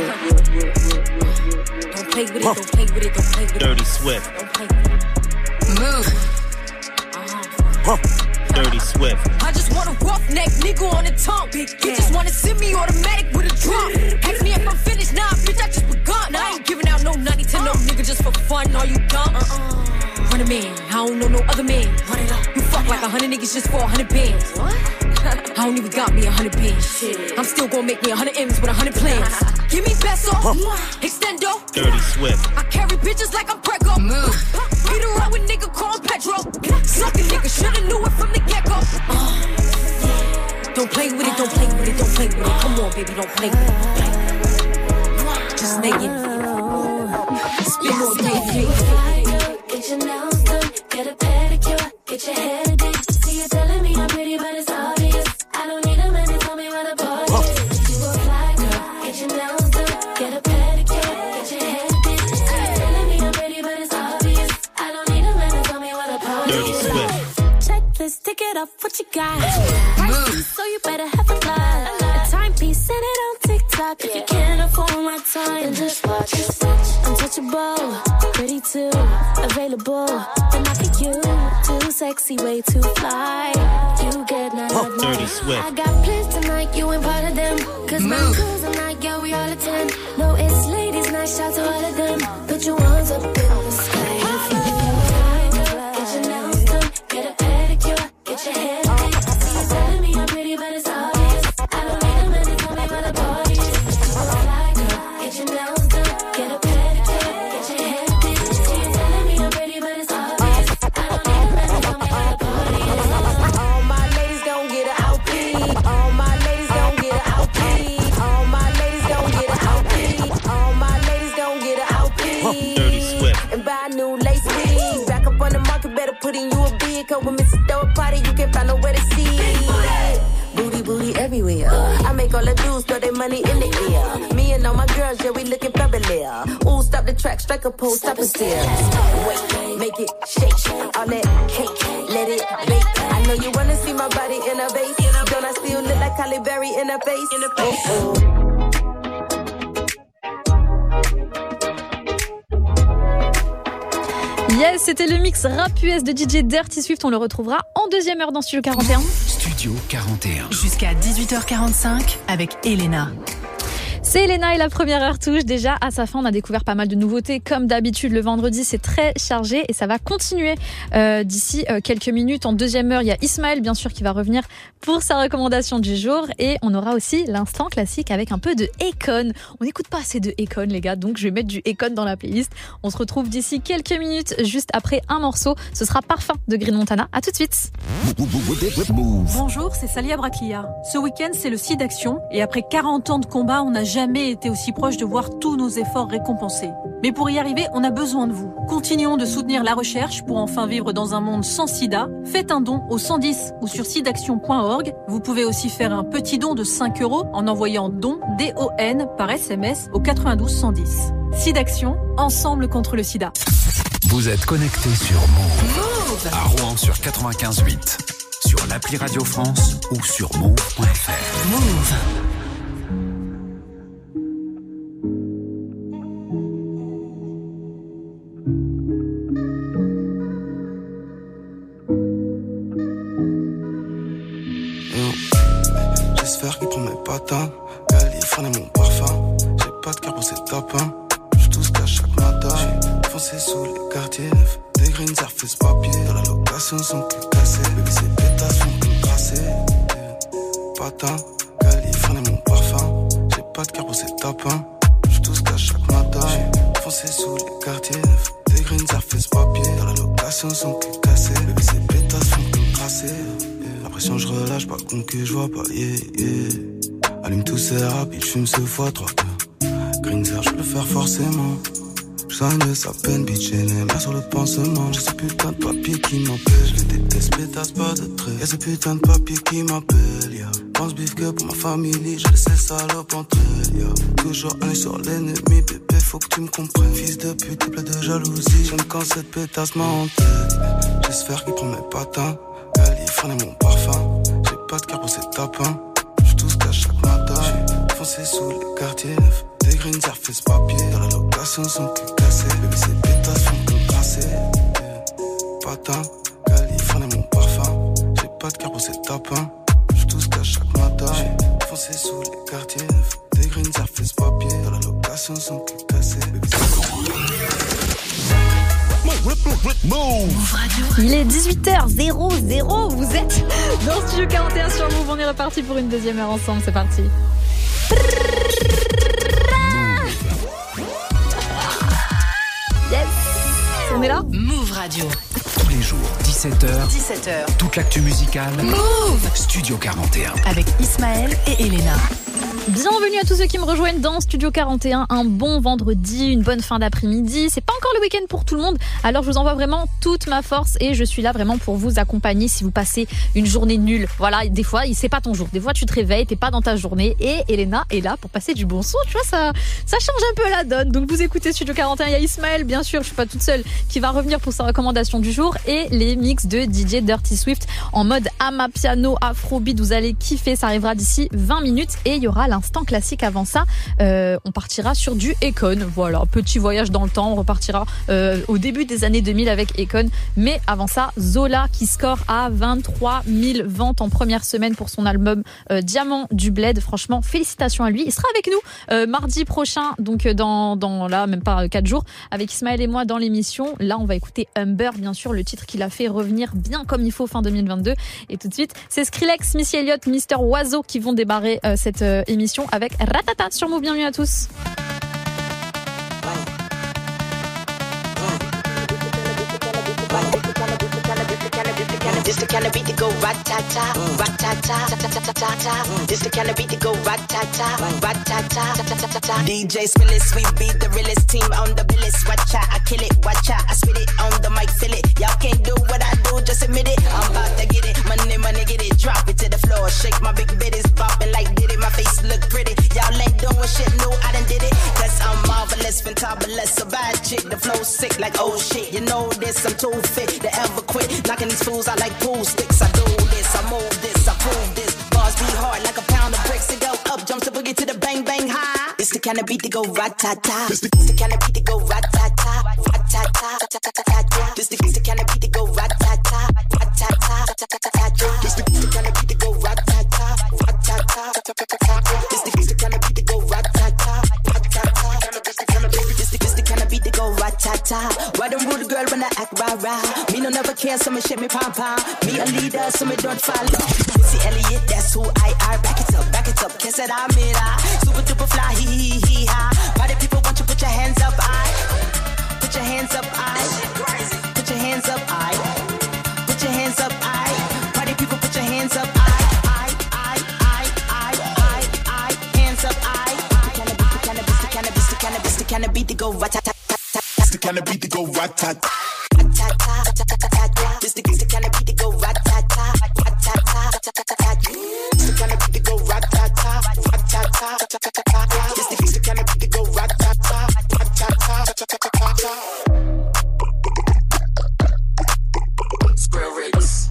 Don't play with it, don't play with it, don't play with it. Dirty Swift. Don't play with it. Move. Huh. Dirty Swift. I just want a roughneck nigga on the tongue. You just wanna send me automatic with a drum. Ask me if I'm finished, nah, bitch, I just begun. I ain't giving out no ninety to no nigga just for fun. Are you dumb? Uh-uh. Run a man, I don't know no other man. You fuck like a hundred niggas just for a hundred bands. What? I don't even got me a hundred bands. I'm still gonna make me a hundred M's with a hundred plans. Give me peso, extendo. Dirty Swift. I carry bitches like I'm Prego. Move. Beat around with nigga called Pedro. Suck a nigga, shoulda knew it from the get-go. Uh, don't play with it, don't play with it, don't play with it. Come on, baby, don't play with it. Just naked. Spin on baby. Get your nails done, get a pedicure, get your hair did. See you telling me I'm pretty, but it's obvious. I don't need a man to tell me where the boy is. You a fly girl, get your nails done, get a pedicure, get your hair did. See you telling me I'm pretty, but it's obvious. I don't need a man to tell me where the boy is. Check this, tick it off, what you got? Price, so you better have a lot. A timepiece, send it on TikTok. If you can't afford my time, then just watch. Untouchable, pretty too, available, but not for you. Too sexy, way too fly. You get none of me. Dirty Swift. I got plans tonight, you ain't part of them. Cause my girls are like, yeah, we all attend. No, it's ladies' night, shout to all of them. Put your ones up in the sky. Get your nails done, get a pedicure, get your hair done. See you telling me I'm pretty, but it's obvious. I don't need a man to tell me where the body is. Fly girl, get your nails done, get a pedicure, get your hair done. See you telling me I'm pretty, but it's obvious. I don't need a man to tell me where the body is. All my ladies gon' get a outfit. All my ladies gon' get a outfit. All my ladies gon' get a outfit. All my ladies gon' get a outfit. Dirty Swift. And buy a new lace wig. Back up on the market, better put in you a bid. Cause when Missus throw a party, you can't find nowhere to see. Booty, booty everywhere. I make all the dudes throw their money in the air. Me and all my girls, yeah, we looking fabulous. Ooh, stop the track, strike a pose, stop and stare. Wait, make it shake. All that cake, let it bake. I know you wanna see my body in a vase. Don't I still look like Halle Berry in a face? Oh, oh. Yes, c'était le mix rap U S de D J Dirty Swift. On le retrouvera en deuxième heure dans Studio quarante et un. Studio quarante et un. Jusqu'à dix-huit heures quarante-cinq avec Elena. C'est Elena et la première heure touche déjà à sa fin. On a découvert pas mal de nouveautés. Comme d'habitude, le vendredi, c'est très chargé et ça va continuer euh, d'ici euh, quelques minutes. En deuxième heure, il y a Ismaël, bien sûr, qui va revenir pour sa recommandation du jour. Et on aura aussi l'instant classique avec un peu de Akon. On n'écoute pas assez de Akon, les gars, donc je vais mettre du Akon dans la playlist. On se retrouve d'ici quelques minutes, juste après un morceau. Ce sera Parfum de Green Montana. À tout de suite. Bonjour, c'est Salia Braclia. Ce week-end, c'est le SIDAction. Et après quarante ans de combat, on n'a jamais été aussi proche de voir tous nos efforts récompensés. Mais pour y arriver, on a besoin de vous. Continuons de soutenir la recherche pour enfin vivre dans un monde sans sida. Faites un don au cent dix ou sur sidaction point org. Vous pouvez aussi faire un petit don de cinq euros en envoyant don, D O N, par S M S au quatre-vingt-douze cent dix. SIDAction, ensemble contre le sida. Vous êtes connectés sur Move. Move à Rouen sur quatre-vingt-quinze huit, sur l'appli Radio France ou sur move point f r. Move. J'espère qu'il prend mes patins. Californie mon parfum. J'ai pas de cœur pour ces tapins. J'suis tout ce qu'à chaque matin. J'ai foncé sous les quartiers neufs. Des greens surface papier. Dans la location sont plus cassés. Baby ces pétasses sont plus tracées. Patin, Californie mon parfum. J'ai pas de cœur pour ces tapins. J'suis tout ce qu'à chaque matin. J'ai foncé sous les quartiers neufs. Des greens surface papier. Dans la location sont plus cassés. Baby ces pétasses sont plus tracées. Pression, je relâche, pas con que je vois pas, yeah, yeah. Allume tous ces rapides, j'fume ce fois trois deux. Green Zer, je peux le faire forcément. J'soigne de sa peine, bitch, et les mains sur le pansement. J'ai ce putain de papier qui m'empêche, je les déteste, pétasse pas de trait. Y'a ce putain de papier qui m'appelle, yeah. Pense bif que pour ma famille, je laisse ces salopes entre elles, yeah. Toujours un sur l'ennemi, bébé, faut que tu me comprennes. Fils de pute, plein de jalousie, j'aime quand cette pétasse m'a en tête. J'espère qu'il prend mes patins. Californie mon parfum. J'ai pas de cœur pour ces tapins. J'suis tout ce qu'à chaque matin. J'ai foncé sous les quartiers neufs. Des greens surface papier. Dans la location sont plus cassés. Baby ces pétasses sont plus tracées. Patin, Californie mon parfum. J'ai pas de car pour cette tape, hein. J'suis tout ce qu'à chaque matin. J'ai foncé sous les quartiers, des greens, surface papier. Dans la location, sans que cassé. Move Radio. Il est dix-huit heures zéro zéro. Vous êtes dans Studio quarante et un sur Move. On est reparti pour une deuxième heure ensemble. C'est parti. Yes. On est là. Move Radio. Tous les jours, dix-sept heures. dix-sept heures. Toute l'actu musicale. Move. Studio quarante et un. Avec Ismaël et Elena. Bienvenue à tous ceux qui me rejoignent dans Studio quarante et un. Un bon vendredi, une bonne fin d'après-midi. C'est pas encore le week-end pour tout le monde, alors je vous envoie vraiment toute ma force et je suis là vraiment pour vous accompagner si vous passez une journée nulle. Voilà, des fois, c'est pas ton jour. Des fois, tu te réveilles, t'es pas dans ta journée et Elena est là pour passer du bon son. Tu vois, ça, ça change un peu la donne. Donc vous écoutez Studio quarante et un. Il y a Ismaël, bien sûr, je suis pas toute seule, qui va revenir pour sa recommandation du jour et les mix de D J Dirty Swift en mode Amapiano, Afrobeat. Vous allez kiffer, ça arrivera d'ici vingt minutes et il y aura l'instant classique avant ça. Euh, on partira sur du Akon. Voilà, petit voyage dans le temps. On repartira euh, au début des années deux mille avec Akon. Mais avant ça, Zola qui score à vingt-trois mille ventes en première semaine pour son album euh, Diamant du Bled. Franchement, félicitations à lui. Il sera avec nous euh, mardi prochain, donc dans, dans là, même pas quatre jours, avec Ismaël et moi dans l'émission. Là, on va écouter Humber, bien sûr, le titre qu'il a fait revenir bien comme il faut fin deux mille vingt-deux. Et tout de suite, c'est Skrillex, Missy Elliott, Mister Oiseau qui vont démarrer euh, cette euh, émission avec Ratata sur Move. Bienvenue à tous. This the kind of beat to go rat-ta-ta, rat-ta-ta, ta-ta-ta-ta-ta. This the kind of beat to go rat-ta-ta, rat-ta-ta, ta-ta-ta-ta. D J Spillis, we be the realest team on the billis. Watch out, I kill it, watch out, I spit it on the mic, feel it. Y'all can't do what I do, just admit it. I'm about to get it, money, money, get it. Drop it to the floor, shake my big bitties, bopping like did it. My face look pretty, y'all ain't doing shit, no, I done did it. Cause I'm marvelous, fantabulous, a bad chick. The flow sick like oh shit, you know this, I'm too fit to ever quit. Knocking these fools out like pool sticks. I do this, I move this, I prove this. Bars be hard like a pound of bricks. It go up, jump to boogie to the bang bang high. It's the kind of beat to go rat-ta-ta. It's the, the kind of beat to go rat-ta-ta, rat-ta-ta, ta-ta-ta-ta. This the, the kind of beat to go rat-ta-ta, rat-ta-ta, ta-ta-ta-ta. This the, the kind of beat to go rat-ta-ta, rat-ta-ta, ta-ta-ta-ta. This the, the kind of beat to go rat-ta-ta, rat-ta-ta. This the, this the kind of beat to go rat-ta-ta. Why don't rude girl when I act rah-rah? Me no never care, so me shake me pom-pom. Me a leader, so me don't follow. Missy Elliott, that's who I are. Back it up, back it up, kiss it, I'm it, ah. Super duper fly, hee hee hee ha. Why the people want you put your hands up, I? Put your hands up, I. Put your hands up, I. Put your hands up, I. Why the people put your hands up, I? I, I, I, I, I, I. Hands up, I. The kind of beat, the kind of beat, the kind of beat, the kind of beat to go rat-ta-ta. It's the kind of beat to go rat-ta-ta. This the, the kind of beat to go rat-ta-ta, rat-ta-ta, ta-ta-ta-ta. It's the kind of beat to go rat-ta-ta, rat-ta-ta, ta-ta-ta-ta. This the, the kind of beat to go rat-ta-ta, rat-ta-ta, ta-ta-ta-ta. Square rigs.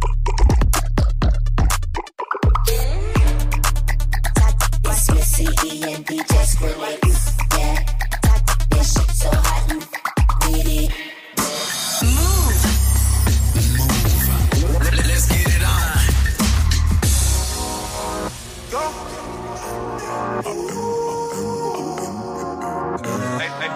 It's Missy E and D J Skrillex, yeah. This shit so hot you need it. Let's get it on. Go. Hey, hey.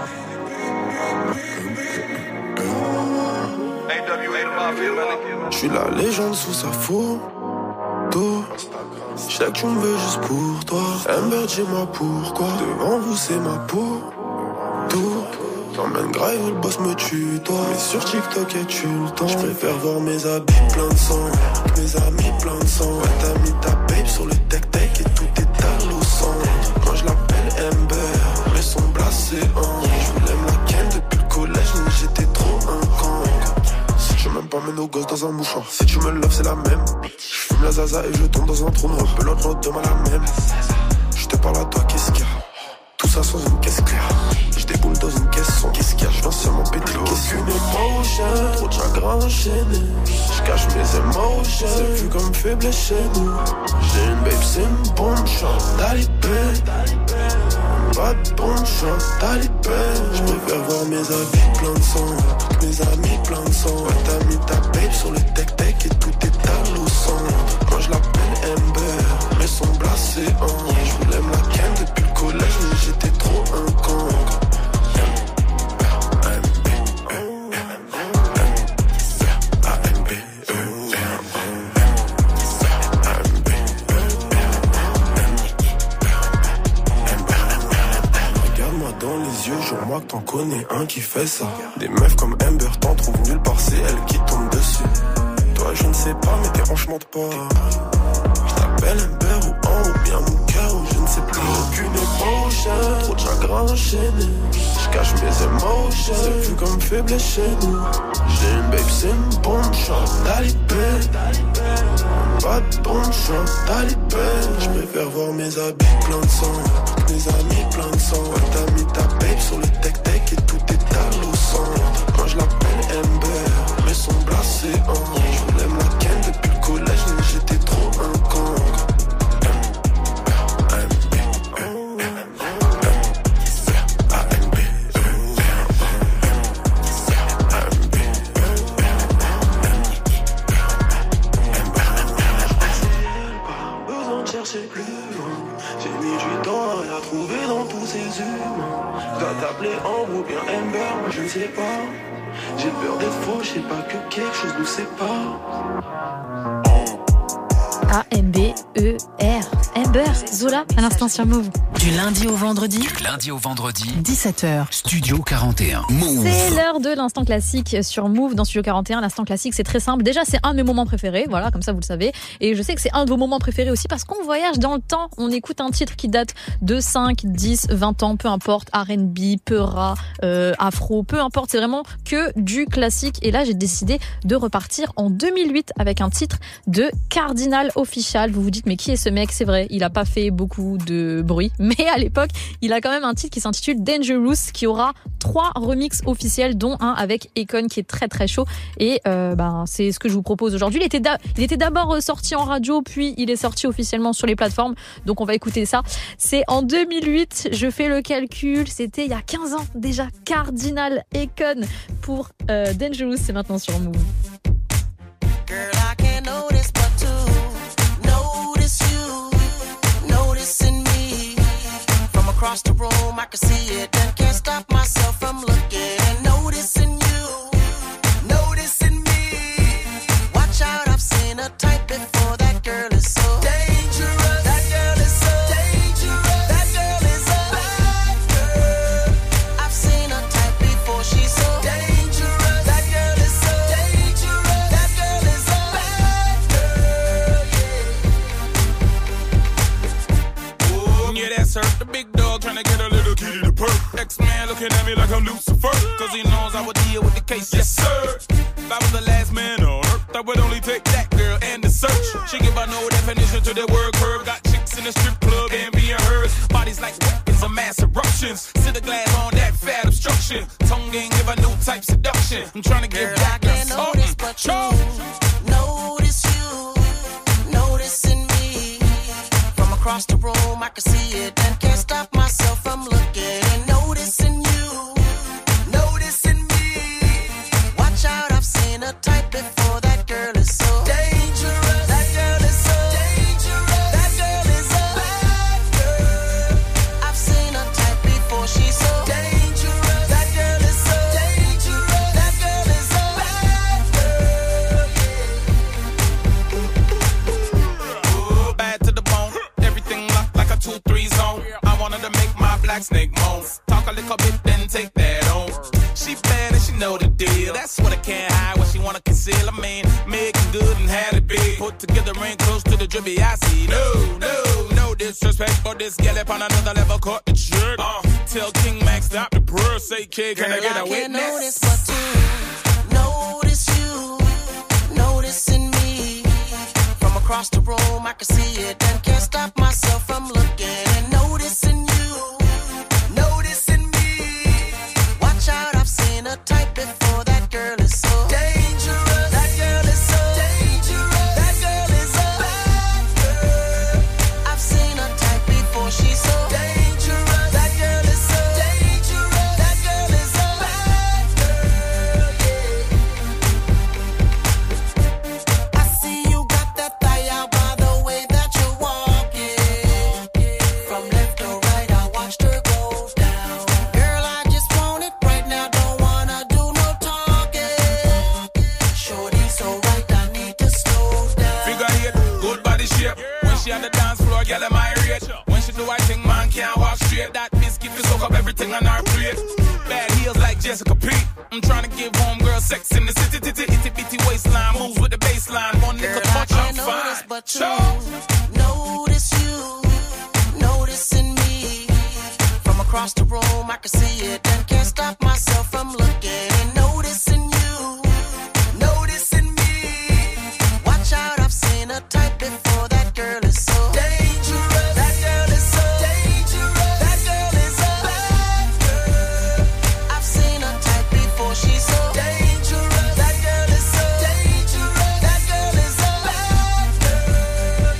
A W A, the mafia, man. J'suis la légende sous sa photo. J'sais que tu me veux juste pour toi. Amber, dis-moi pourquoi. Devant vous, c'est ma peau. Tout. J'emmène grave, le boss me tue, toi. Mais sur TikTok, et tu le temps. J'préfère voir mes habits plein de sang. Mes amis plein de sang. Ouais, t'as mis ta babe sur le tech-tech et tout est à l'eau sang. Quand je l'appelle Amber, le son blasé en. J'voulais me la ken depuis le collège, mais j'étais trop un con. Si tu m'aimes pas, mets nos gosses dans un mouchoir. Si tu me loves, c'est la même. J'fume la zaza et je tombe dans un trou noir. Un peu l'autre demain la même. J'te parle à toi, qu'est-ce qu'il y a? Tout ça sans une caisse claire. J'déboule dans une caisse son. Qu'est-ce qu'il y a? J'viens seulement péter les questions. Aucune émotion, trop de chagrin enchaîné. J'cache mes émotions, c'est vu comme faible chez nous. J'ai une babe, c'est une bonne chance. Talibé, pas de bonne chance. Talibé, j'préfère voir mes habits plein de sang. Mes amis plein de sang. Ouais, t'as mis ta babe sur le tech-tech et tout est à l'eau sang. pas que t'en connais un qui fait ça. Des meufs comme Amber t'en trouvent nulle part, c'est elle qui tombe dessus. Toi je ne sais pas mais tes hanches mentent pas. Je t'appelle Amber ou un ou bien mon cœur ou je ne sais plus. Aucune émotion, trop de chagrin enchaîné. Je cache mes émotions, c'est vu comme faible chez nous. J'ai une babe, c'est une bonne chance, talibé. Pas de bonne chance, talibé. Je préfère voir mes habits pleins de sang, mes amis pleins de sang. Ouais, t'as mis ta babe sur le tech-tech et tout est à l'eau centre. Quand je l'appelle Amber, mais son blasé en. Je voulais me la ken depuis le collège, mais j'étais trop un con. Chercher plus loin, j'ai mis du temps à la trouver dans tous ces humains. Je dois t'appeler Ambre ou bien Amber, moi je ne sais pas. J'ai peur d'être faux, je sais pas que quelque chose nous sépare. A M B E R. Amber, Zola, à l'instant sur Move. Du lundi au vendredi. Du lundi au vendredi. dix-sept heures. Studio quarante et un. Move. C'est l'heure de l'instant classique sur Move dans Studio quarante et un. L'instant classique, c'est très simple. Déjà, c'est un de mes moments préférés. Voilà, comme ça, vous le savez. Et je sais que c'est un de vos moments préférés aussi parce qu'on voyage dans le temps. On écoute un titre qui date de cinq, dix, vingt ans, peu importe. R and B, Peura, euh, Afro, peu importe. C'est vraiment que du classique. Et là, j'ai décidé de repartir en deux mille huit avec un titre de Cardinal Offishall. Vous vous dites, mais qui est ce mec? C'est vrai, il a pas fait beaucoup de bruit, mais à l'époque, il a quand même un titre qui s'intitule Dangerous, qui aura trois remixes officiels, dont un avec Akon qui est très très chaud. Et euh, ben c'est ce que je vous propose aujourd'hui. Il était da- il était d'abord sorti en radio, puis il est sorti officiellement sur les plateformes. Donc on va écouter ça. C'est en deux mille huit. Je fais le calcul. C'était il y a quinze ans déjà. Cardinal Akon pour euh, Dangerous. C'est maintenant sur Move. Girl, I can't notice but to notice you, noticing me. From across the room, I can see it and can't stop myself from looking and noticing you, noticing me. Watch out, I've seen a type before. That girl is so dangerous. That girl is so dangerous. That girl is a bad girl. I've seen a type before. She's so dangerous. That girl is so dangerous. That girl is a bad girl. Yeah. Ooh, yeah, that's her. The big dog trying to get a little kitty to perk. X-Man looking at me like I'm Lucifer, cause he knows I would deal with the case. Yes, sir. If I was the last man on earth, I would only take that girl and the search. She give her no definition to the word curve. Got chicks in the strip club and being hers. Bodies like weapons of mass eruptions. Cinder glass on that fat obstruction. Tongue ain't give her no type seduction. I'm trying to give that girl something. Notice but you, notice you, noticing me. From across the room, I can see it and can't stop myself from looking and noticing you, noticing me. Watch out, I've seen a type before. That girl is so dangerous. That girl is so dangerous. That girl is a bad girl. I've seen a type before. She's so dangerous. That girl is so dangerous. That girl is a bad girl. Ooh, bad to the bone. Everything locked like a two three zone. I wanted to make my black snake moan. Talk a little bit, then take that on. She bad and she know the deal. That's what I can't hide, what she wanna conceal. I mean, making good and had it big. Put together ain't close to the drippy I see. No, no, no disrespect, but this gal up on another level caught the trick. Uh, tell King Max stop the purr, say kid, can I get a witness? Girl, I can't notice but to notice you, noticing me. From across the room, I can see it and can't stop myself from looking and noticing you, noticing me. Watch out, I've seen a type before. That girl is so dangerous. That girl is so dangerous. That girl is a bad girl. I've seen a type before. She's so dangerous. That girl is so dangerous. That girl is a bad girl. Yeah. I see you got that thigh out by the way that you're walking. From left to right, I watched her go down. Girl, I just want it right now. Don't wanna do no talking. Shorty so right, I need to slow down. Figure eight, good body shape. When she on the dance floor, girl, am I rate? When she do I think man can't walk straight. That biscuit will soak up everything on her plate. heels like Jessica P. I'm trying to give homegirl sex in the city, itty itty bitty waistline. Moves with the baseline. One nigga punch, I'm fine. But you notice you, noticing me. From across the room, I can see it and can't stop myself from looking and noticing you, noticing me. Watch out, I've seen a type before. That girl is so dangerous. That girl is so dangerous. That girl is a bad girl. I've seen a type before. She's so dangerous. That girl is so dangerous. That girl is a bad girl.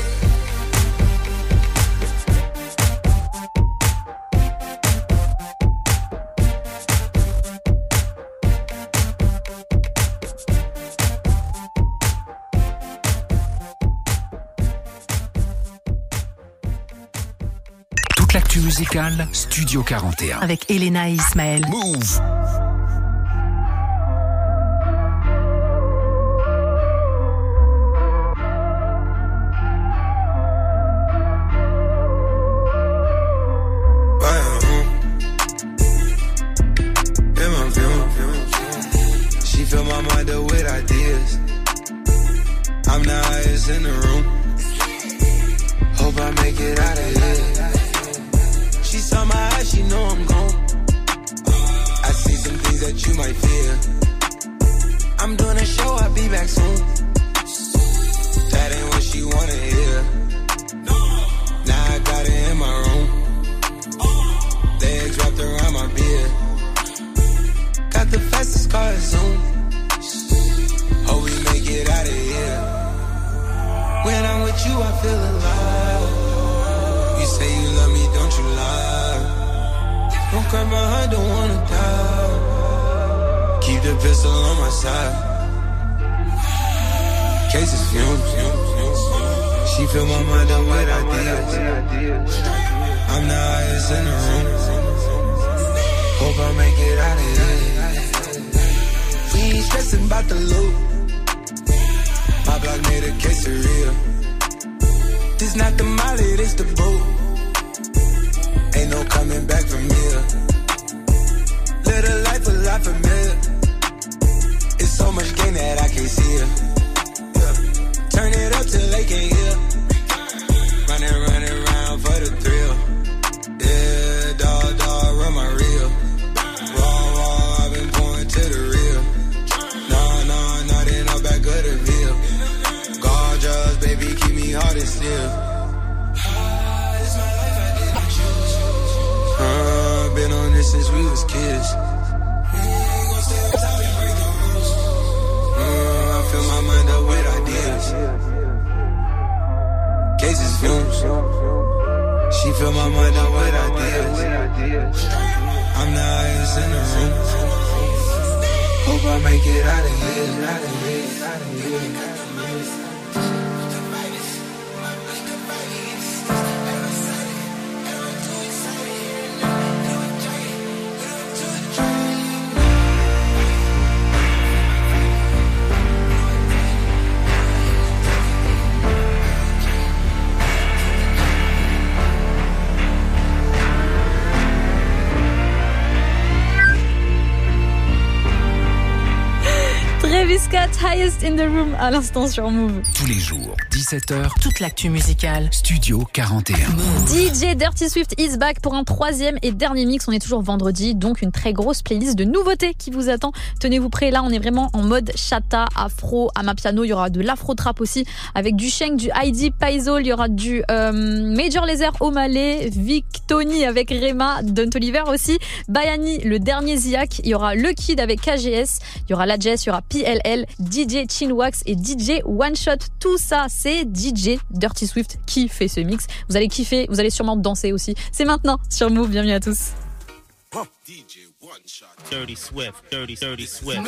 Toute l'actu musicale, Studio quarante et un. Avec Elena et Ismaël. Move. She fill my mind up with ideas. I'm the highest in the room. Hope I make it out of here. She saw my eyes, she know I'm gone. I see some things that you might fear. I'm doing a show, I'll be back soon. That ain't what she wanna hear. Now I got it in my room. Legs wrapped around my beard. Got the fastest car at Zoom. Hope we make it out of here. When I'm with you, I feel alive. You say you love me, don't you lie. Don't cry my heart, don't wanna die. Keep the pistol on my side. Cases fumes. She fill my mind up with ideas. I'm the highest in the room. Hope I make it out of here. We ain't stressing about the loot. My block made a case of real. This not the molly, this the boat. Ain't no coming back from here. Live a life a lot familiar. It's so much gain that I can't see it. Yeah. Turn it up till they can't hear. Running, running around for the thrill. Yeah, dog, dog, run my reel. Raw, raw, I've been going to the real. Nah, nah, nah, they not back of the veil. Gorgeous, baby, keep me hard and still. Uh, been on this since we was kids. Uh, I fill my mind up with ideas. Cases fumes. She fill my mind up with ideas. I'm the highest in the room. Hope I make it out of here. Out of here. Out of here. Travis Scott, Highest in the Room, à l'instant sur Move. Tous les jours, dix-sept heures. Toute l'actu musicale. Studio quarante et un. D J Dirty Swift is back pour un troisième et dernier mix. On est toujours vendredi, donc une très grosse playlist de nouveautés qui vous attend. Tenez-vous prêts, là on est vraiment en mode chata, afro, amapiano. Il y aura de l'afro-trap aussi, avec du Shank, du Heidi Paizo. Il y aura du euh, Major Lazer, O'Malley, Vic Tony avec Rema, Don Toliver aussi, Bayani, le dernier Ziak. Il y aura Le Kid avec K G S. Il y aura La Jess, il y aura P L L, D J Chinwax et D J One Shot. Tout ça, c'est D J Dirty Swift qui fait ce mix. Vous allez kiffer, vous allez sûrement danser aussi. C'est maintenant sur Move. Bienvenue à tous. D J One Shot. Dirty Swift, Dirty, Dirty Swift.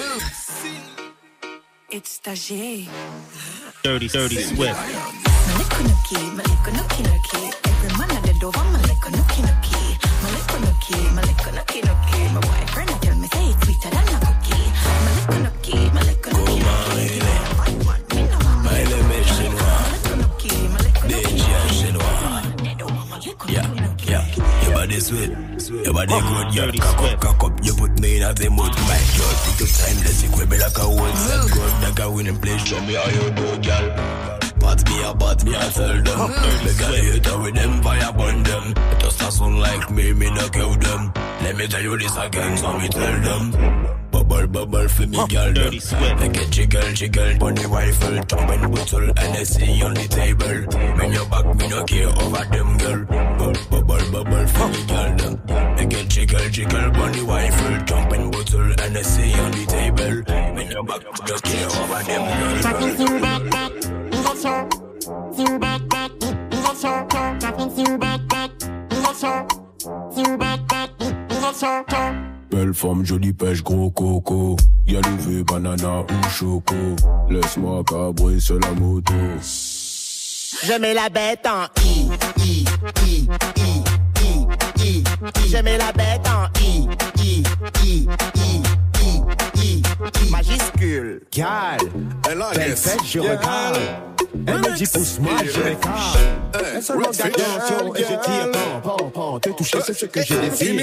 It's Tajay. Dirty, Dirty Swift. Malikunuki, malikunuki nuki. Every man at the door, malikunuki nuki. Malikunuki, malikunuki nuki. My boyfriend tell me say it's sweeter than a cookie. Malikunuki, malikunuki nuki. Maile me chinois. D J chinois. Yeah, yeah. Your body sweet. You body good, you cock up, cock up. You put me in a the mood. My God, take your time, let's equip me like a one. Set good, like a winning place. Show me how you do, girl. But me a but me a tell them. Me got a hater with them, fire burn them. Just a son like me, me no kill them. Let me tell you this again, so me tell them. Bubble, bubble for me, girl. Make it jiggle, jiggle. Bunny rifle, jumping bottle, N S C on the table. When you back, me no care over them, girl. Bubble, bubble for me, girl. Make it jiggle, jiggle. Bunny rifle, jumping bottle, N S C on the table. When you back, me no care over them, girl. Talking to back, back, in the show. To back, back, in the show. Talking to back, back, in the show. To back, back, in the show. Belle femme, jolie pêche, gros coco. Y'a levé, banana ou choco. Laisse-moi cabrer sur la moto. Je mets la bête en I, I, I, I, I, I, I. Je mets la bête en I, I, I, I, I, I, I. Majuscule, gal. Belle fête, je regarde. Elle me dit pousse-moi, je m'écarte. Elle se manque d'attention et je tire. Pan, pan, pan. Te toucher, c'est ce que je désire.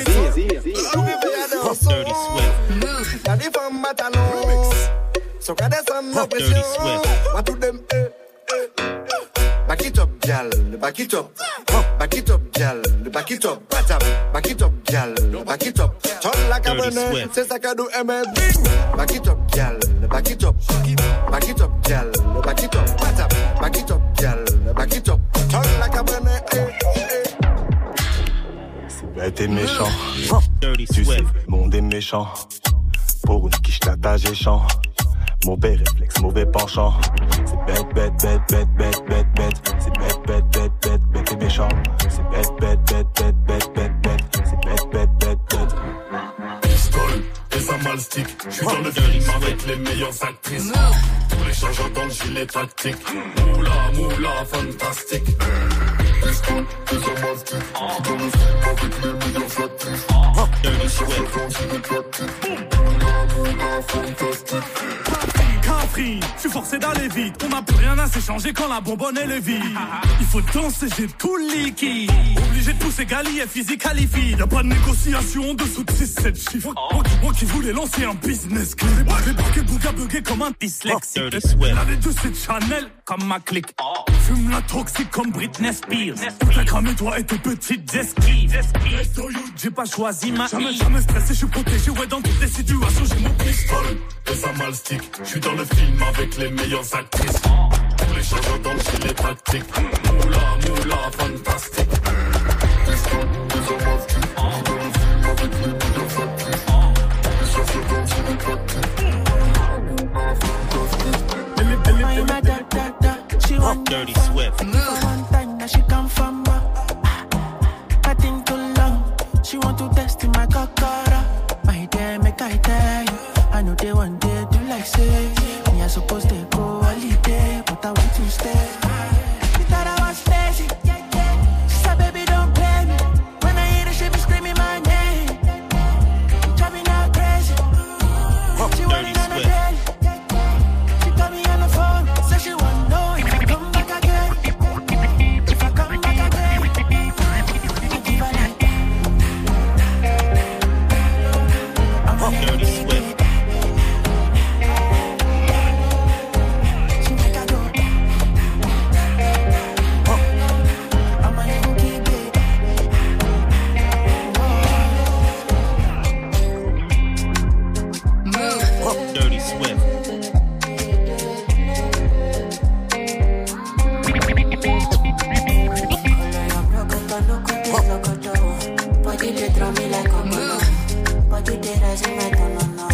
Dirty Swift. Y'a des femmes à talons. Sont qu'à descendre la pression. Moi tout dem, eh, eh, eh. Back it up, gal, back it up. Back it up, gal, back it up. Back it up, gal, back it up. Turn like a bonnet, c'est ça qu'a do M L. Back it up, gal, back it up. Back it up, gal, back it up. Back it up, gal, back it up. Turn like a bonnet, eh, eh. C'est bête et méchant. Tu sais, le monde est méchant. Pour une quiche, la tâche est champ. Mauvais réflexe, mauvais penchant. C'est bête, bête, bête, bête, bête, bête, bête. C'est bête, bête, bête, bête, bête et méchant. C'est bête, bête, bête, bête, bête, bête, bête. C'est bête, bête, bête, bête. Pistole et ça mal stick. J'suis dans le film avec les meilleures actrices. Tous les changements dans le gilet tactique. Moula, moula, fantastique. Pistole et ça mal stick. J'suis dans le film avec les meilleures actrices. Tous les changements dans le gilet tactique. Moula, moula, fantastique. Capri, je suis forcé d'aller vite. On n'a plus rien à s'échanger quand la bonbonne elle est vide. Il faut danser, j'ai tout liquide. Obligé de pousser Gali et physique qualifie. Y'a pas de négociation en dessous de six sept chiffres. Moi, moi qui voulais lancer un business clé. J'ai barqué bouga bugué comme un dyslexique. L'année deux c'est Chanel comme ma clique. Fume la toxique comme Britney Spears. T'as cramé toi et tes petites esquives. J'ai pas choisi ma jamais, jamais stressé, je suis protégé. Ouais, dans toutes les situations, j'ai mon pistolet. Et ça mal stick. J'suis dans le film avec les meilleures actrices. Tous les changements dans le gilet tactique. Moula, moula, fantastique. Pistole, et ça mal stick. J'suis dans le film avec les meilleures actrices. Tous les changements dans le gilet tactique. Moula, fantastique. She want Dirty Swift. one time that she come from uh, nothing too long. She want to test in my cockara. My dear, make I tell you. I know they want to do like say. Me I supposed to go holiday, but I want to stay. She thought I was lazy. She said, baby, don't play me. When I hear her, she be screaming my name. Driving her crazy. She want it on a daily. She got me on the phone, said she want to know if I come back again. If I come back again, I give her that. I'm Dirty Swift. Dirty Swift. Body they throw me like a balloon. Body they rise in my tono.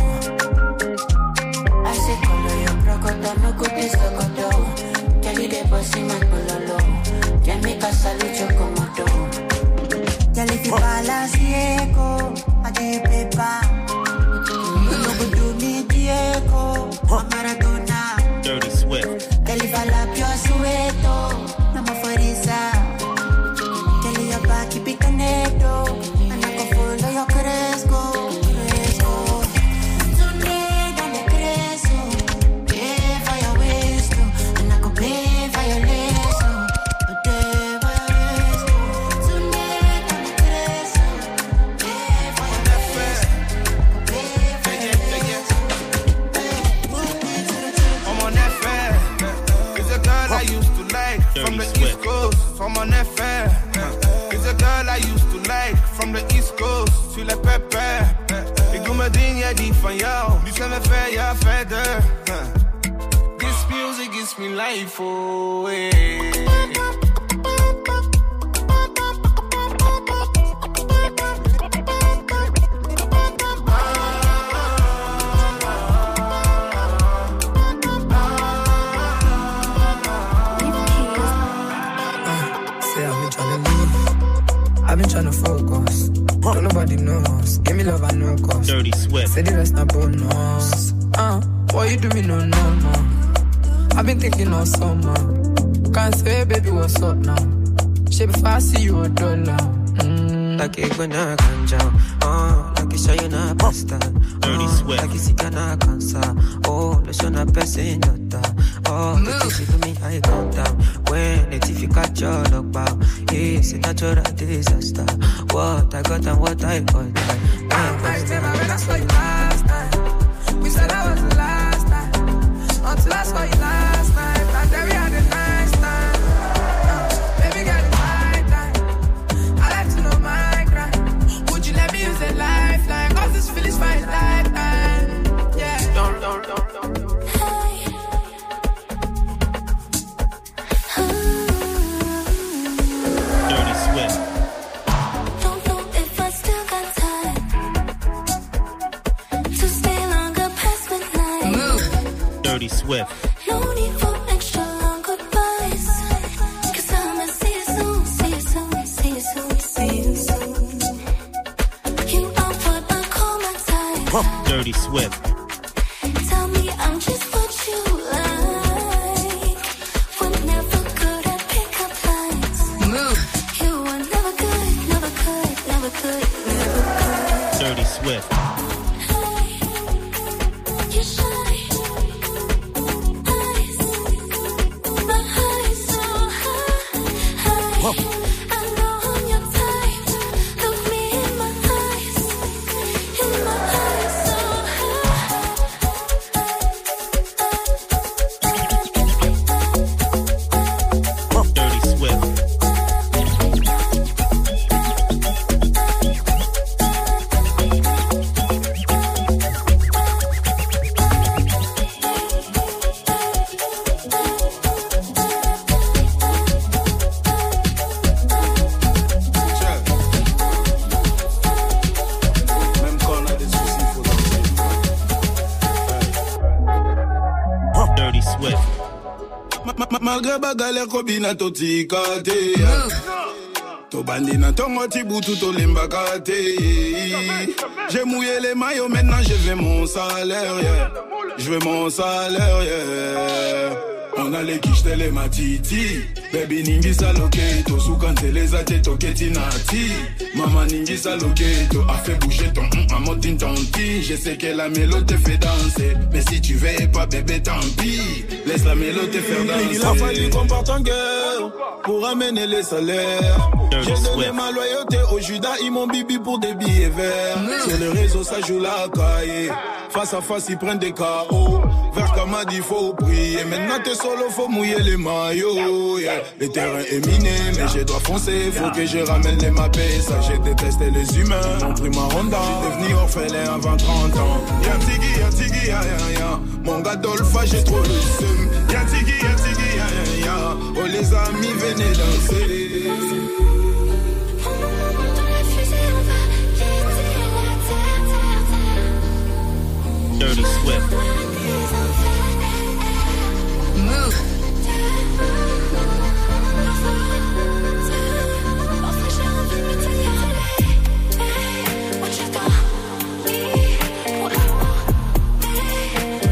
I say color your crocodile, no good is crocodile. Kelly they bossy my pololo. Can make a salute your komodo. Kelly fi balance Diego, I give paper. No go do me Diego, I'm Maradona. Dirty Swift. Kelly fala pio sueto, no more forisa. Kelly your back keep it connected, and I go follow your cresco, cresco. Tonight I'm a cresco, pay for your waist, and I go pay for your lace. But they were tonight I'm a cresco, pay used to like from the East Coast, from mon F R. It's a girl I used to like from the East Coast, tu le pépé. Ik doe mijn ding, jij die van jou. Nu zijn we ver, ja verder. This music gives me life, oh hey. I've been tryna focus, don't nobody knows. Give me love, I know cost. Dirty Swift. Say the rest not bonus. Uh, why you do me no, no, no? I've been thinking all summer. Can't say, baby, what's up now? Shit, before I see you a dollar. Mm. Like it when I can jump. Uh, like it's you na pasta. Dirty Swift. Like it's na cancer. Oh, the son of person not. Oh, if you do me, I calm down. When it's if you catch your dog bow, it's a natural disaster. What I got and what I got. I remember when I saw you last time. We said that was the last time. Until I saw you last night. And then we had a nice time. Uh, baby, got it my time. I like to know my crime. Would you let me use a lifeline? Cause this feeling's my lifetime. Yeah. Don't, don't, don't, don't, don't. Dirty Swift. No need for extra long goodbyes. Cause I'ma see you soon, see you soon, see you soon, see you soon. You are what I call my type. Dirty Swift. Tell me I'm just what you like. We're never good at pickup lines. Move. You were never good, never could, never could, never could. Dirty Swift. You shine. Malgré bagalère kobina totikate To bandi na tongo tibutu to limbakate. J'ai mouillé les maillots, maintenant je veux mon salaire, yeah. Je veux mon salaire, yeah. On a les quiches les matiti. Baby ningi saloketo. Soukante les ate toketi nati. Maman ningi saloketo. A fait bouger ton hum, maman tin tanti. Je sais que la mélodie te fait danser. Mais si tu veux pas bébé tant pis. Laisse la mélodie te faire danser. Il a fallu qu'on parte en guerre pour amener les salaires. J'ai donné ma loyauté au Judas, ils m'ont bibi pour des billets verts. Sur les réseaux ça joue la caille. Face à face ils prennent des K O. Vers Kamadi faut prier. Maintenant t'es solo, faut mouiller les maillots, yeah. Le terrain est miné, mais je dois foncer. Faut que je ramène les mappés. Ça j'ai détesté les humains. Ils m'ont pris ma Honda. J'étais devenu orphelin avant trente ans. Y'a Tiggy, y'a Tiggy, y'a y'a y'a. Mon gars Dolpha, j'ai trop le seum. Y'a Tiggy, y'a Tiggy, y'a y'a y'a. Oh les amis, venez danser. Dirty Swift. Move.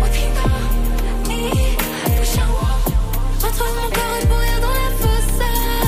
Retrouve mon cœur et pourrir dans la fosse.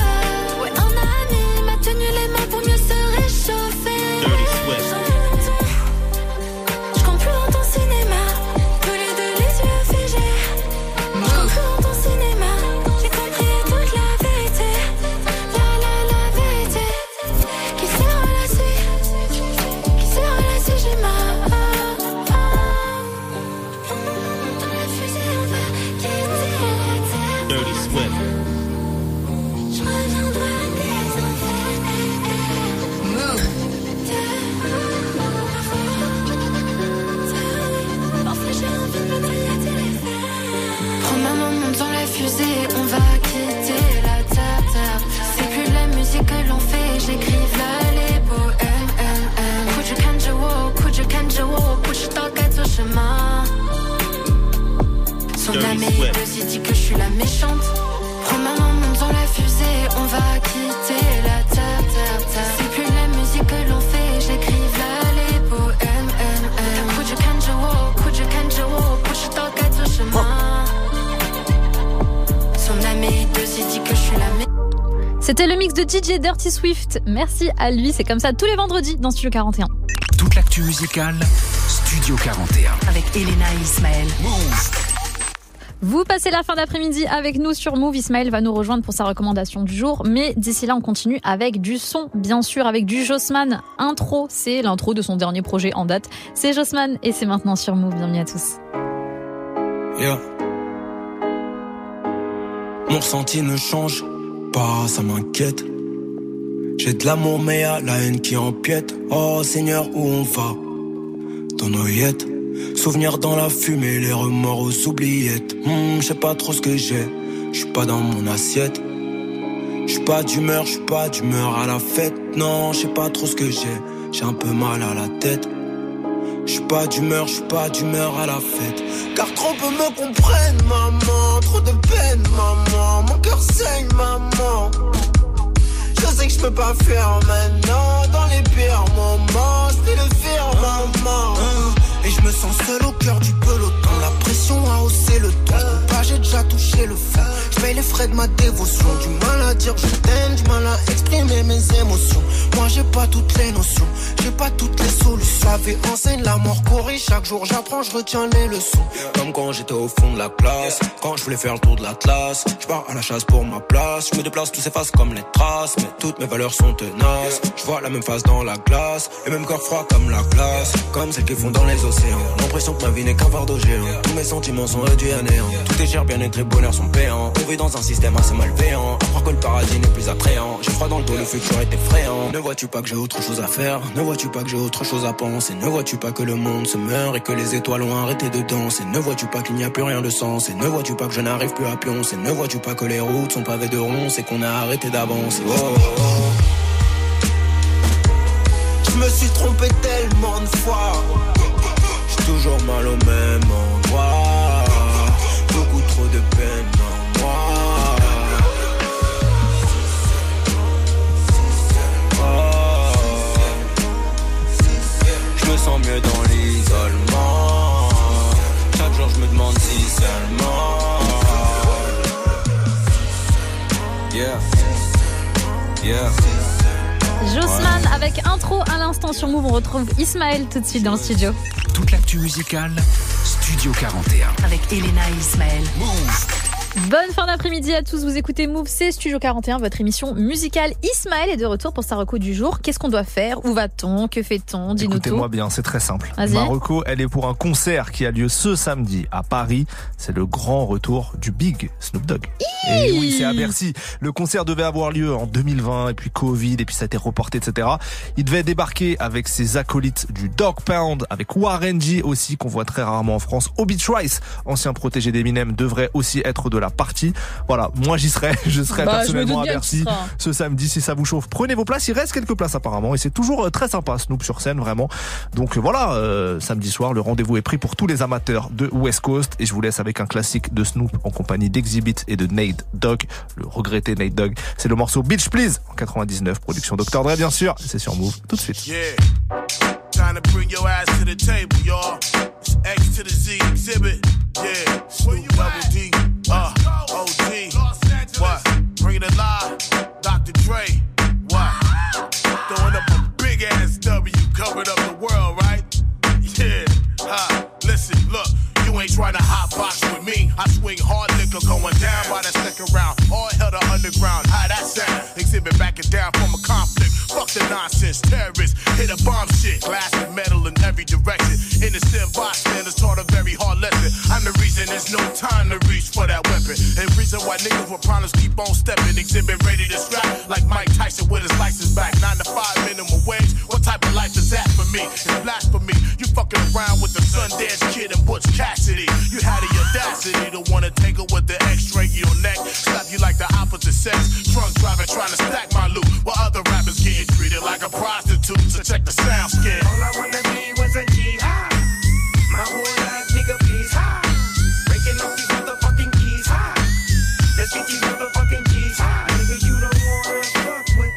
que si dit que je suis la meilleure. C'était le mix de D J Dirty Swift. Merci à lui, c'est comme ça tous les vendredis dans Studio quarante et un. Toute l'actu musicale, Studio quarante et un. Avec Elena et Ismaël. Move. Vous passez la fin d'après-midi avec nous sur Move. Ismaël va nous rejoindre pour sa recommandation du jour. Mais d'ici là, on continue avec du son, bien sûr, avec du Jossman. Intro, c'est l'intro de son dernier projet en date. C'est Jossman et c'est maintenant sur Move. Bienvenue à tous. Yeah. Mon ressenti ne change pas, ça m'inquiète. J'ai de l'amour mais y'a la haine qui empiète. Oh Seigneur, où on va? Dans nos yettes. Souvenirs dans la fumée, les remords aux oubliettes. hmm, Je sais pas trop ce que j'ai, je suis pas dans mon assiette. Je suis pas d'humeur, je suis pas d'humeur à la fête. Non, je sais pas trop ce que j'ai, j'ai un peu mal à la tête. Je suis pas d'humeur, je suis pas d'humeur à la fête. Car trop peu me comprennent, maman. Trop de peine, maman. Mon cœur saigne, maman. Je sais que je peux pas faire maintenant. Dans les pires moments, je peux le faire, maman. Et je me sens seul au cœur du peloton. La pression a haussé le ton. Pas, j'ai déjà touché le fond. Je paye les frais de ma dévotion. Du mal à dire je t'aime, du mal à exprimer mes émotions. Moi j'ai pas toutes les notions, j'ai pas toutes les solutions. La vie enseigne, la mort corrige. Chaque jour j'apprends, je retiens les leçons. Comme quand j'étais au fond de la classe, quand je voulais faire le tour de l'Atlas. Je pars à la chasse pour ma place. Je me déplace, tout s'efface comme les traces. Mais toutes mes valeurs sont tenaces. Je vois la même face dans la glace. Et même corps froid comme la glace. Comme celles qui font dans les océans. L'impression que ma vie n'est qu'un fardeau géant. Tous mes sentiments sont réduits à néant. Tout est cher, bien-être et bonheur sont payants. On vit dans un système assez malveillant. À croire que le paradis n'est plus attrayant. J'ai froid dans le dos, le futur est effrayant. Ne vois-tu pas que j'ai autre chose à faire? Ne vois-tu pas que j'ai autre chose à penser? Ne vois-tu pas que le monde se meurt et que les étoiles ont arrêté de danser? Ne vois-tu pas qu'il n'y a plus rien de sens? Et ne vois-tu pas que je n'arrive plus à pioncer? Ne vois-tu pas que les routes sont pavées de ronces et qu'on a arrêté d'avancer? Oh, oh, oh. Je me suis trompé tellement de fois. J'ai toujours mal au même endroit. Beaucoup trop de peine en moi. Oh. Je me sens mieux dans l'isolement. Chaque jour je me demande si seulement. Yeah. Yeah. Jossman avec intro à l'instant sur Move. On retrouve Ismaël tout de suite dans le studio. Toute l'actu musicale, Studio quarante et un. Avec Elena et Ismaël. Move. Bonne fin d'après-midi à tous, vous écoutez Move, c'est Studio quarante et un, votre émission musicale. Ismaël est de retour pour sa reco du jour. Qu'est-ce qu'on doit faire? Où va-t-on? Que fait-on? Dis-nous tout. Écoutez-moi bien, c'est très simple. Vas-y. Ma reco, elle est pour un concert qui a lieu ce samedi à Paris. C'est le grand retour du Big Snoop Dogg. Hi Et oui, c'est à Bercy. Le concert devait avoir lieu en deux mille vingt, et puis Covid, et puis ça a été reporté, et cetera. Il devait débarquer avec ses acolytes du Dog Pound, avec Warren G aussi, qu'on voit très rarement en France. Obi Trice, ancien protégé d'Eminem, devrait aussi être de la partie. Voilà, moi j'y serai, je serai bah, personnellement à bien Bercy ce samedi si ça vous chauffe. Prenez vos places, il reste quelques places apparemment et c'est toujours très sympa Snoop sur scène vraiment. Donc voilà, euh, samedi soir, le rendez-vous est pris pour tous les amateurs de West Coast et je vous laisse avec un classique de Snoop en compagnie d'Exhibit et de Nate Dogg, le regretté Nate Dogg. C'est le morceau Bitch Please en quatre-vingt-dix-neuf, production docteur Dre bien sûr. C'est sur Move tout de suite. Yeah. Time to bring your ass to the table, y'all. It's X to the Z exhibit. Yeah. Snoop Double D. Uh, O G. What? Bring it alive. Doctor Dre. What? Throwing up a big ass W. Covered up the world, right? Yeah. Huh. Listen, look. You ain't trying to hot box with me. I swing hard liquor going down by the second round. All hell the underground. How that sound? Exhibit backing down from a conflict. Fuck the nonsense. Terrorists hit a bomb shit. Glass and metal in every direction. Innocent bystanders taught a very hard lesson. I'm the reason there's no time to reach for that weapon. And reason why niggas with problems keep on stepping. Exhibit ready to strap like Mike Tyson with his license back. Nine to five minimum wage. What type of life is that for me? It's blasphemy. You fucking around with the Sundance Kid and Butch Cassidy. You had the audacity to wanna tangle with the X-ray your neck. Slap you like the opposite sex. Drunk driving trying to stack my loot. While other rappers getting treated like a prostitute. So check the sound skin. All I wanna be was a G high. My whole life, nigga, please high. Breaking off these motherfucking keys high. Let's get these motherfucking G's high. Nigga, you don't wanna fuck with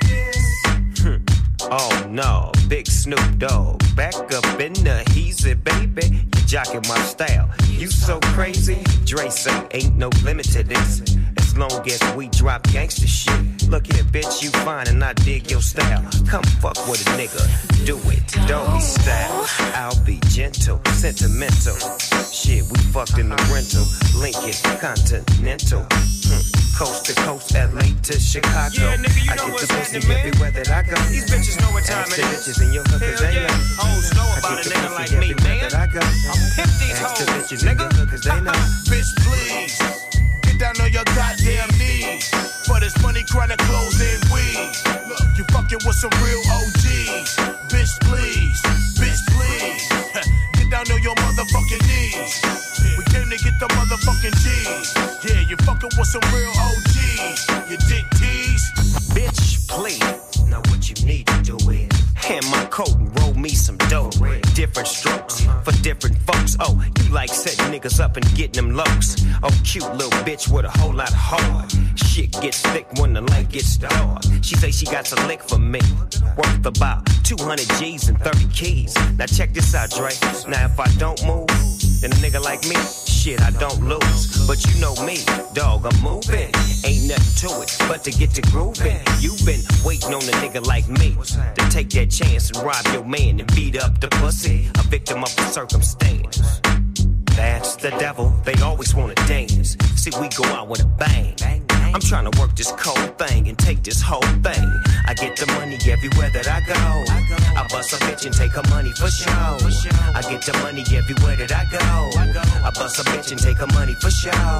this. Oh no, Big Snoop Dogg. Back up in the heezy, baby. You jocking my style. You so crazy. Dre say ain't no limit to this. It's as long as we drop gangsta shit. Look here, bitch, you fine and I dig your style. Come fuck with a nigga, do it, doggy style. I'll be gentle, sentimental. Shit, we fucked in the rental, Lincoln, Continental. Hmm. Coast to coast, L A to Chicago. Yeah, nigga, you I know get what's the pussy happening, man. everywhere that I go. These bitches know what time Ask it the is. bitches in your hood, cause Hell they yeah. know. Hoes know I about get a the nigga pussy like me, everywhere man. that I go. I'm pimp these Ask the hoes, bitches in nigga. your hood, cause they know. Bitch, please, get down on your goddamn knees. For this money, chronic clothes and weed. Look, you fucking with some real O Gs. Bitch, please, bitch, please. Get down on your motherfucking knees. We came to get the motherfucking G's. Yeah, you fucking with some real O Gs. You dick tease. Bitch, please. Now what you need to do is hand my coat and roll me some dough. Different strokes for different folks. Oh, you like setting niggas up and getting them lows. Oh, cute little bitch with a whole lot of heart. Shit gets thick when the light gets dark. She say she got a lick for me, worth about two hundred G's and thirty keys. Now check this out, Dre. Now if I don't move, then a nigga like me, shit, I don't lose. But you know me, dog, I'm moving. Ain't nothing to it but to get to grooving. You've been waiting on a nigga like me to take that chance and rob your man and beat up the pussy, a victim of the circumstance. That's the devil, they always wanna dance. See, we go out with a bang. I'm trying to work this cold thing and take this whole thing. I get the money everywhere that I go. I bust a bitch and take her money for show. I get the money everywhere that I go. I bust a bitch and take her money for show.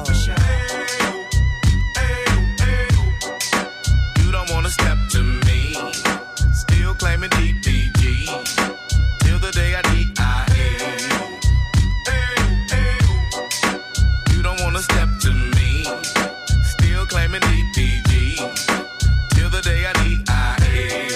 You don't wanna step to me. Still claiming D P G. Till the day I D I A. You don't wanna step to me. Still claiming D P G. Till the day I D I A.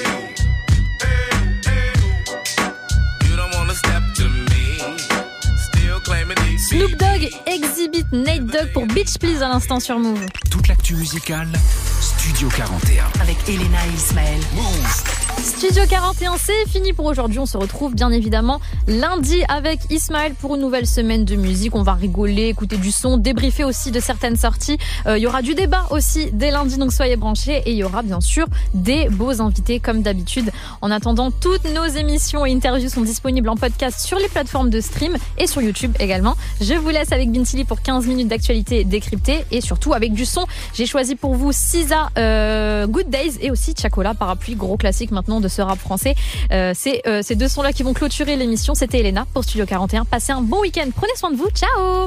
You don't wanna step to me. Still claiming D P G. Snoop Dogg, Exhibit, Nate Dogg pour Bitch Please à l'instant sur Move. Toute l'actu musicale, Studio quarante et un. Avec Elena et Ismaël. Move. Studio quarante et un, c'est fini pour aujourd'hui. On se retrouve bien évidemment lundi avec Ismaël pour une nouvelle semaine de musique. On va rigoler, écouter du son, débriefer aussi de certaines sorties. Il euh, y aura du débat aussi dès lundi, donc soyez branchés. Et il y aura bien sûr des beaux invités comme d'habitude. En attendant, toutes nos émissions et interviews sont disponibles en podcast sur les plateformes de stream et sur YouTube également. Je vous laisse avec Bintili pour quinze minutes d'actualité décryptée et surtout avec du son. J'ai choisi pour vous Sisa, euh, Good Days et aussi Chacola, Parapluie, gros classique maintenant de ce rap français. Euh, c'est euh, ces deux sons-là qui vont clôturer l'émission. C'était Elena pour Studio quarante et un. Passez un bon week-end. Prenez soin de vous. Ciao.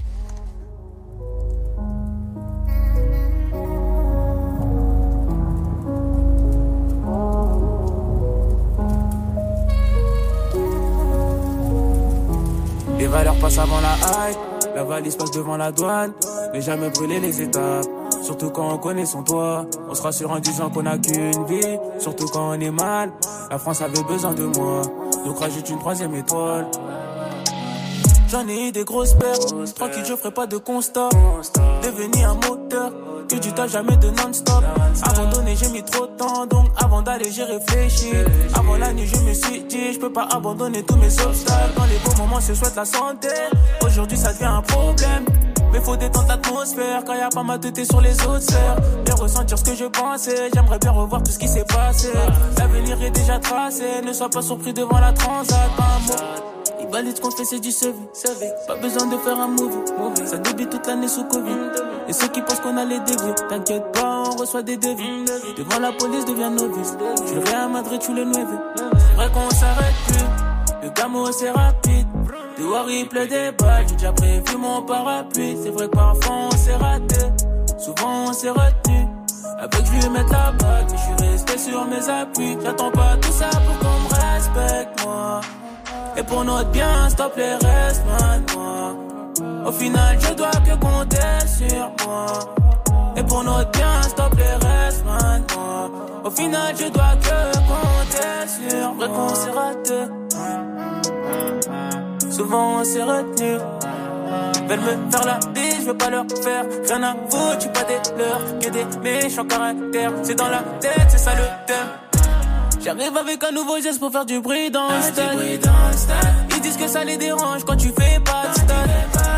Les valeurs passent avant la hype, la valise passe devant la douane, mais jamais brûler les étapes. Surtout quand on connaît son toit, on se rassure en disant qu'on n'a qu'une vie. Surtout quand on est mal, la France avait besoin de moi, donc rajoute une troisième étoile. J'en ai eu des grosses pertes, tranquille je ferai pas de constat. Devenu un moteur, que du tas jamais de non-stop. Abandonner j'ai mis trop de temps, donc avant d'aller j'ai réfléchi. Avant la nuit je me suis dit, je peux pas abandonner tous mes obstacles. Dans les beaux moments je souhaite la santé, aujourd'hui ça devient un problème. Mais faut détendre l'atmosphère quand y'a pas ma tête sur les autres sphères. Bien ressentir ce que je pensais, j'aimerais bien revoir tout ce qui s'est passé. L'avenir est déjà tracé, ne sois pas surpris devant la transat. Pas un mot, il valide qu'on fait c'est du C V. Pas besoin de faire un movie, ça débute toute l'année sous Covid. Et ceux qui pensent qu'on a les dévier, t'inquiète pas, on reçoit des devis. Devant la police devient novice, tu le Real Madrid, tu le Nueve. C'est vrai qu'on s'arrête plus, le gamo c'est rapide. Dehors il pleut des balles, j'ai déjà prévu mon parapluie. C'est vrai que parfois on s'est raté, souvent on s'est retenu. Avec je lui mettre la bague, mais je suis resté sur mes appuis. J'attends pas tout ça pour qu'on me respecte moi. Et pour notre bien, stop les restes maintenant. Au final je dois que compter sur moi. Et pour notre bien, stop les restes maintenant. Au final je dois que compter sur moi. Vrai qu'on s'est raté, souvent on s'est retenu. Veulent me faire la bise, je veux pas leur faire rien à foutre, j'suis pas des leurs, que des méchants caractères. C'est dans la tête, c'est ça le thème. J'arrive avec un nouveau geste pour faire du bruit dans le stade. Ils disent que ça les dérange quand tu fais pas de stade.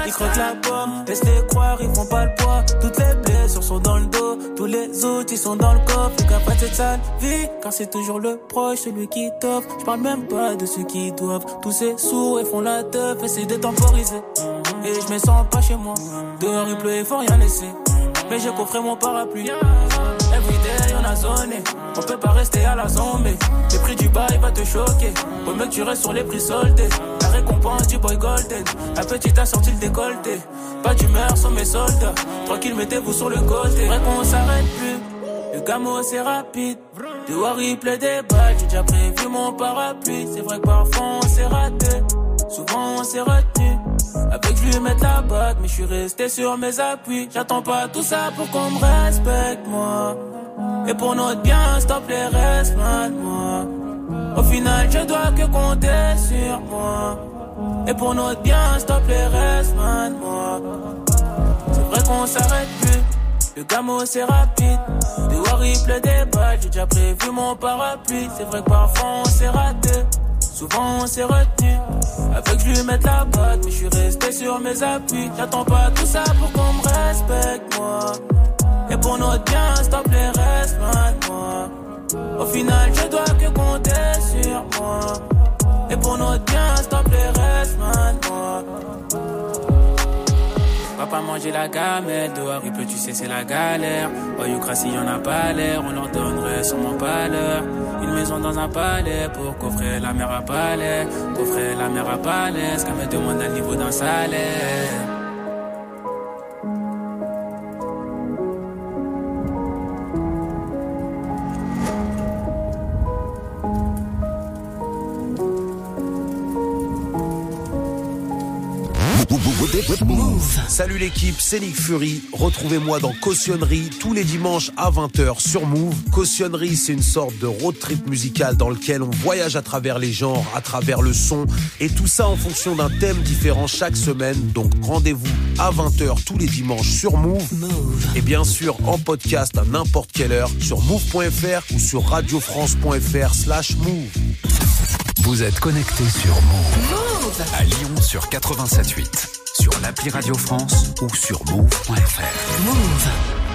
ils croquent la pomme. Laisse-les croire, ils font pas le poids. Toutes les blessures sont dans le dos, tous les autres ils sont dans le coffre. Fais gaffe à cette sale vie, car c'est toujours le proche, celui qui t'offre. J'parle même pas de ceux qui doivent. Tous ces sourds et font la teuf, essaient de temporiser. Et je me sens pas chez moi. Dehors il pleut et faut rien laisser. Mais j'ai coffré mon parapluie. Everyday on a zoné. On peut pas rester à la zombie. Le prix du bail va te choquer. Faut mieux que tu restes sur les prix soldés. La récompense du boy golden. La petite a sorti le décolleté. Pas d'humeur sur mes soldats. Tranquille, mettez-vous sur le côté. Vrai qu'on s'arrête plus. Le gamo c'est rapide. Dehors il pleut des balles. J'ai déjà prévu mon parapluie. C'est vrai que parfois on s'est raté. Souvent on s'est retenu. Avec je lui mettre la bague, mais je suis resté sur mes appuis. J'attends pas tout ça pour qu'on me respecte, moi. Et pour notre bien, stop les restes, moi. Au final, je dois que compter sur moi. Et pour notre bien, stop les restes, moi. C'est vrai qu'on s'arrête plus. Le gamo c'est rapide. Dehors il pleut des balles. J'ai déjà prévu mon parapluie. C'est vrai que parfois on s'est raté. Souvent on s'est retenu. Avec je lui mettre la bague, mais je suis resté sur mes appuis. J'attends pas tout ça pour qu'on me respecte, moi. Et pour notre bien, stop les restes, moi. Au final, je dois que compter sur moi. Et pour notre bien, stop les restes, moi. Papa manger la gamelle, dehors il pleut, tu sais c'est la galère. Oyucratie y'en a pas l'air, on leur donnerait sûrement pas l'heure. Une maison dans un palais pour coffrer la mer à palais. Coffrer la mer à palais, ce qu'elle me demande à niveau d'un salaire. Move. Salut l'équipe, c'est Nick Fury. Retrouvez-moi dans Cautionnerie tous les dimanches à vingt heures sur Move. Cautionnerie, c'est une sorte de road trip musical dans lequel on voyage à travers les genres, à travers le son, et tout ça en fonction d'un thème différent chaque semaine. Donc rendez-vous à vingt heures tous les dimanches sur Move. Move. Et bien sûr en podcast à n'importe quelle heure sur move point f r ou sur radiofrance point f r slash move. Vous êtes connecté sur Move. Move à Lyon sur quatre-vingt-sept huit, sur l'appli Radio France ou sur move point f r. Move.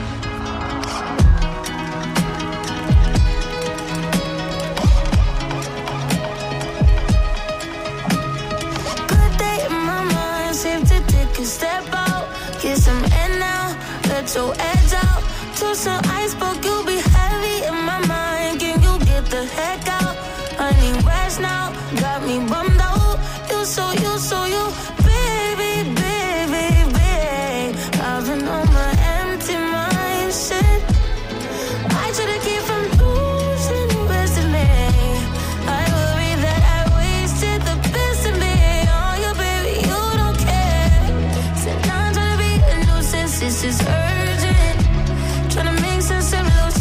Good day in my mind, safe to take a step out, get some air now, let your edge out. To some iceberg, you'll be heavy in my mind. Can you get the heck out? I need rest now, got me bummed out. You so, you so, you, baby, baby, baby. I've been on my empty mind, shit. I try to keep from losing the best of me. I worry that I wasted the best of me. Oh, you, baby, you don't care. Said I'm trying to be a nuisance, this is urgent. Trying to make sense of those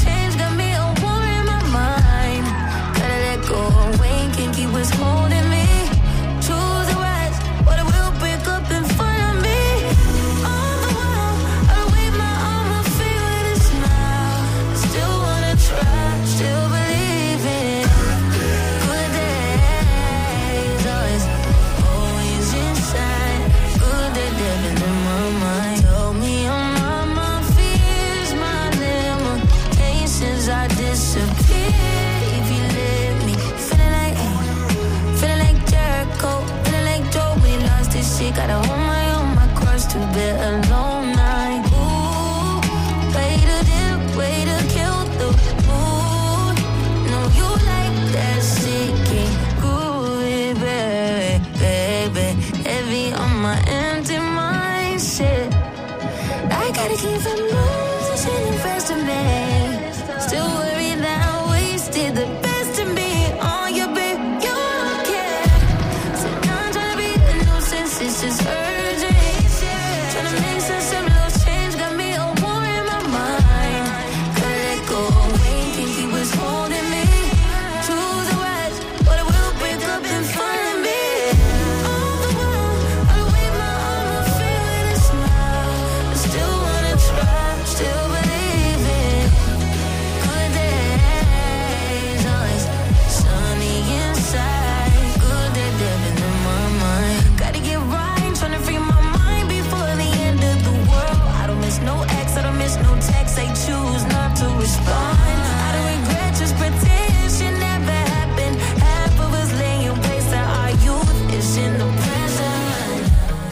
respond. I don't regret, just pretend shit never happened. Half of us laying waste to our youth is in the present.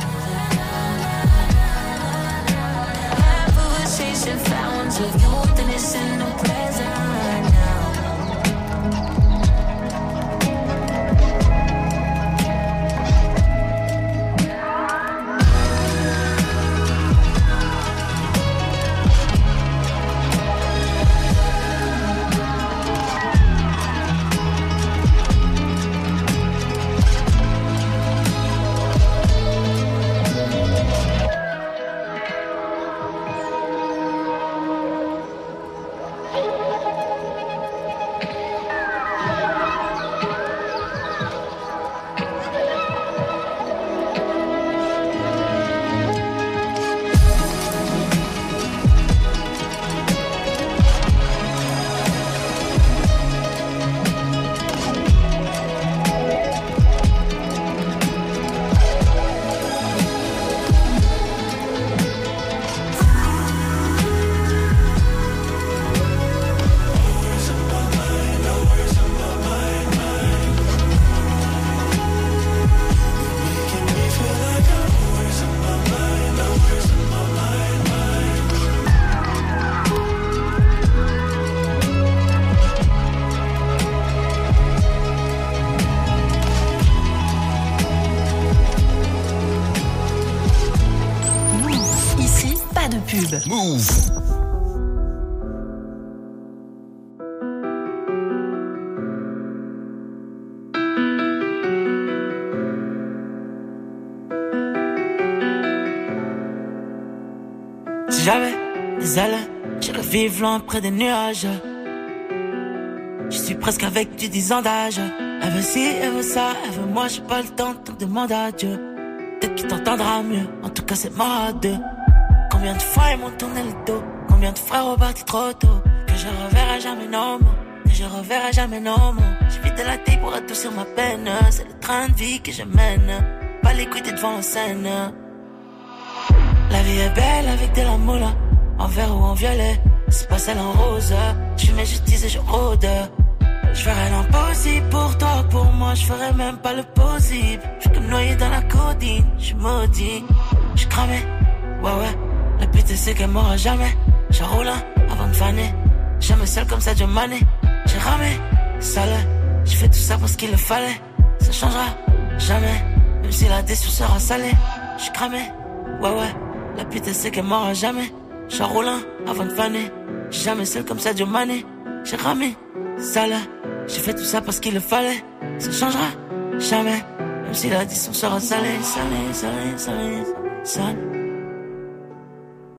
Half of us chasing fountains of youth and it's in the present now. Move. Si j'avais des ailes, j'irais vivre loin près des nuages. Je suis presque avec du dix ans d'âge. Elle veut ci, elle veut ça, elle veut moi, j'ai pas le temps, donc demande à Dieu. Peut-être qu'il t'entendra mieux, en tout cas c'est mort à deux. Combien de fois ils m'ont tourné le dos, combien de frères ont parti trop tôt. Que je reverrai jamais nos mots, que je reverrai jamais nos mots. J'évite de la taille pour adoucir ma peine. C'est le train de vie que je mène, pas les couilles devant la scène. La vie est belle avec de la moula, en vert ou en violet, c'est pas celle en rose. Je mets justice et je rôde. Je ferai l'impossible pour toi, pour moi je ferai même pas le possible. Je suis comme noyé dans la codine, je suis maudit. Je cramé, ouais ouais, la pute c'est qu'elle m'aura jamais. Je roule avant de faner, jamais seul comme ça Dieu mané. J'ai ramé, sale, j'ai fait tout ça parce qu'il le fallait. Ça changera jamais, même si la déçu sera salée. Je suis cramé, ouais ouais, la pute c'est qu'elle m'aura jamais. Je roule avant de faner, jamais seul comme ça Dieu mané. J'ai ramé, sale, j'ai fait tout ça parce qu'il le fallait. Ça changera jamais, même si l'addition sera salée, salée, salée, salée, salée.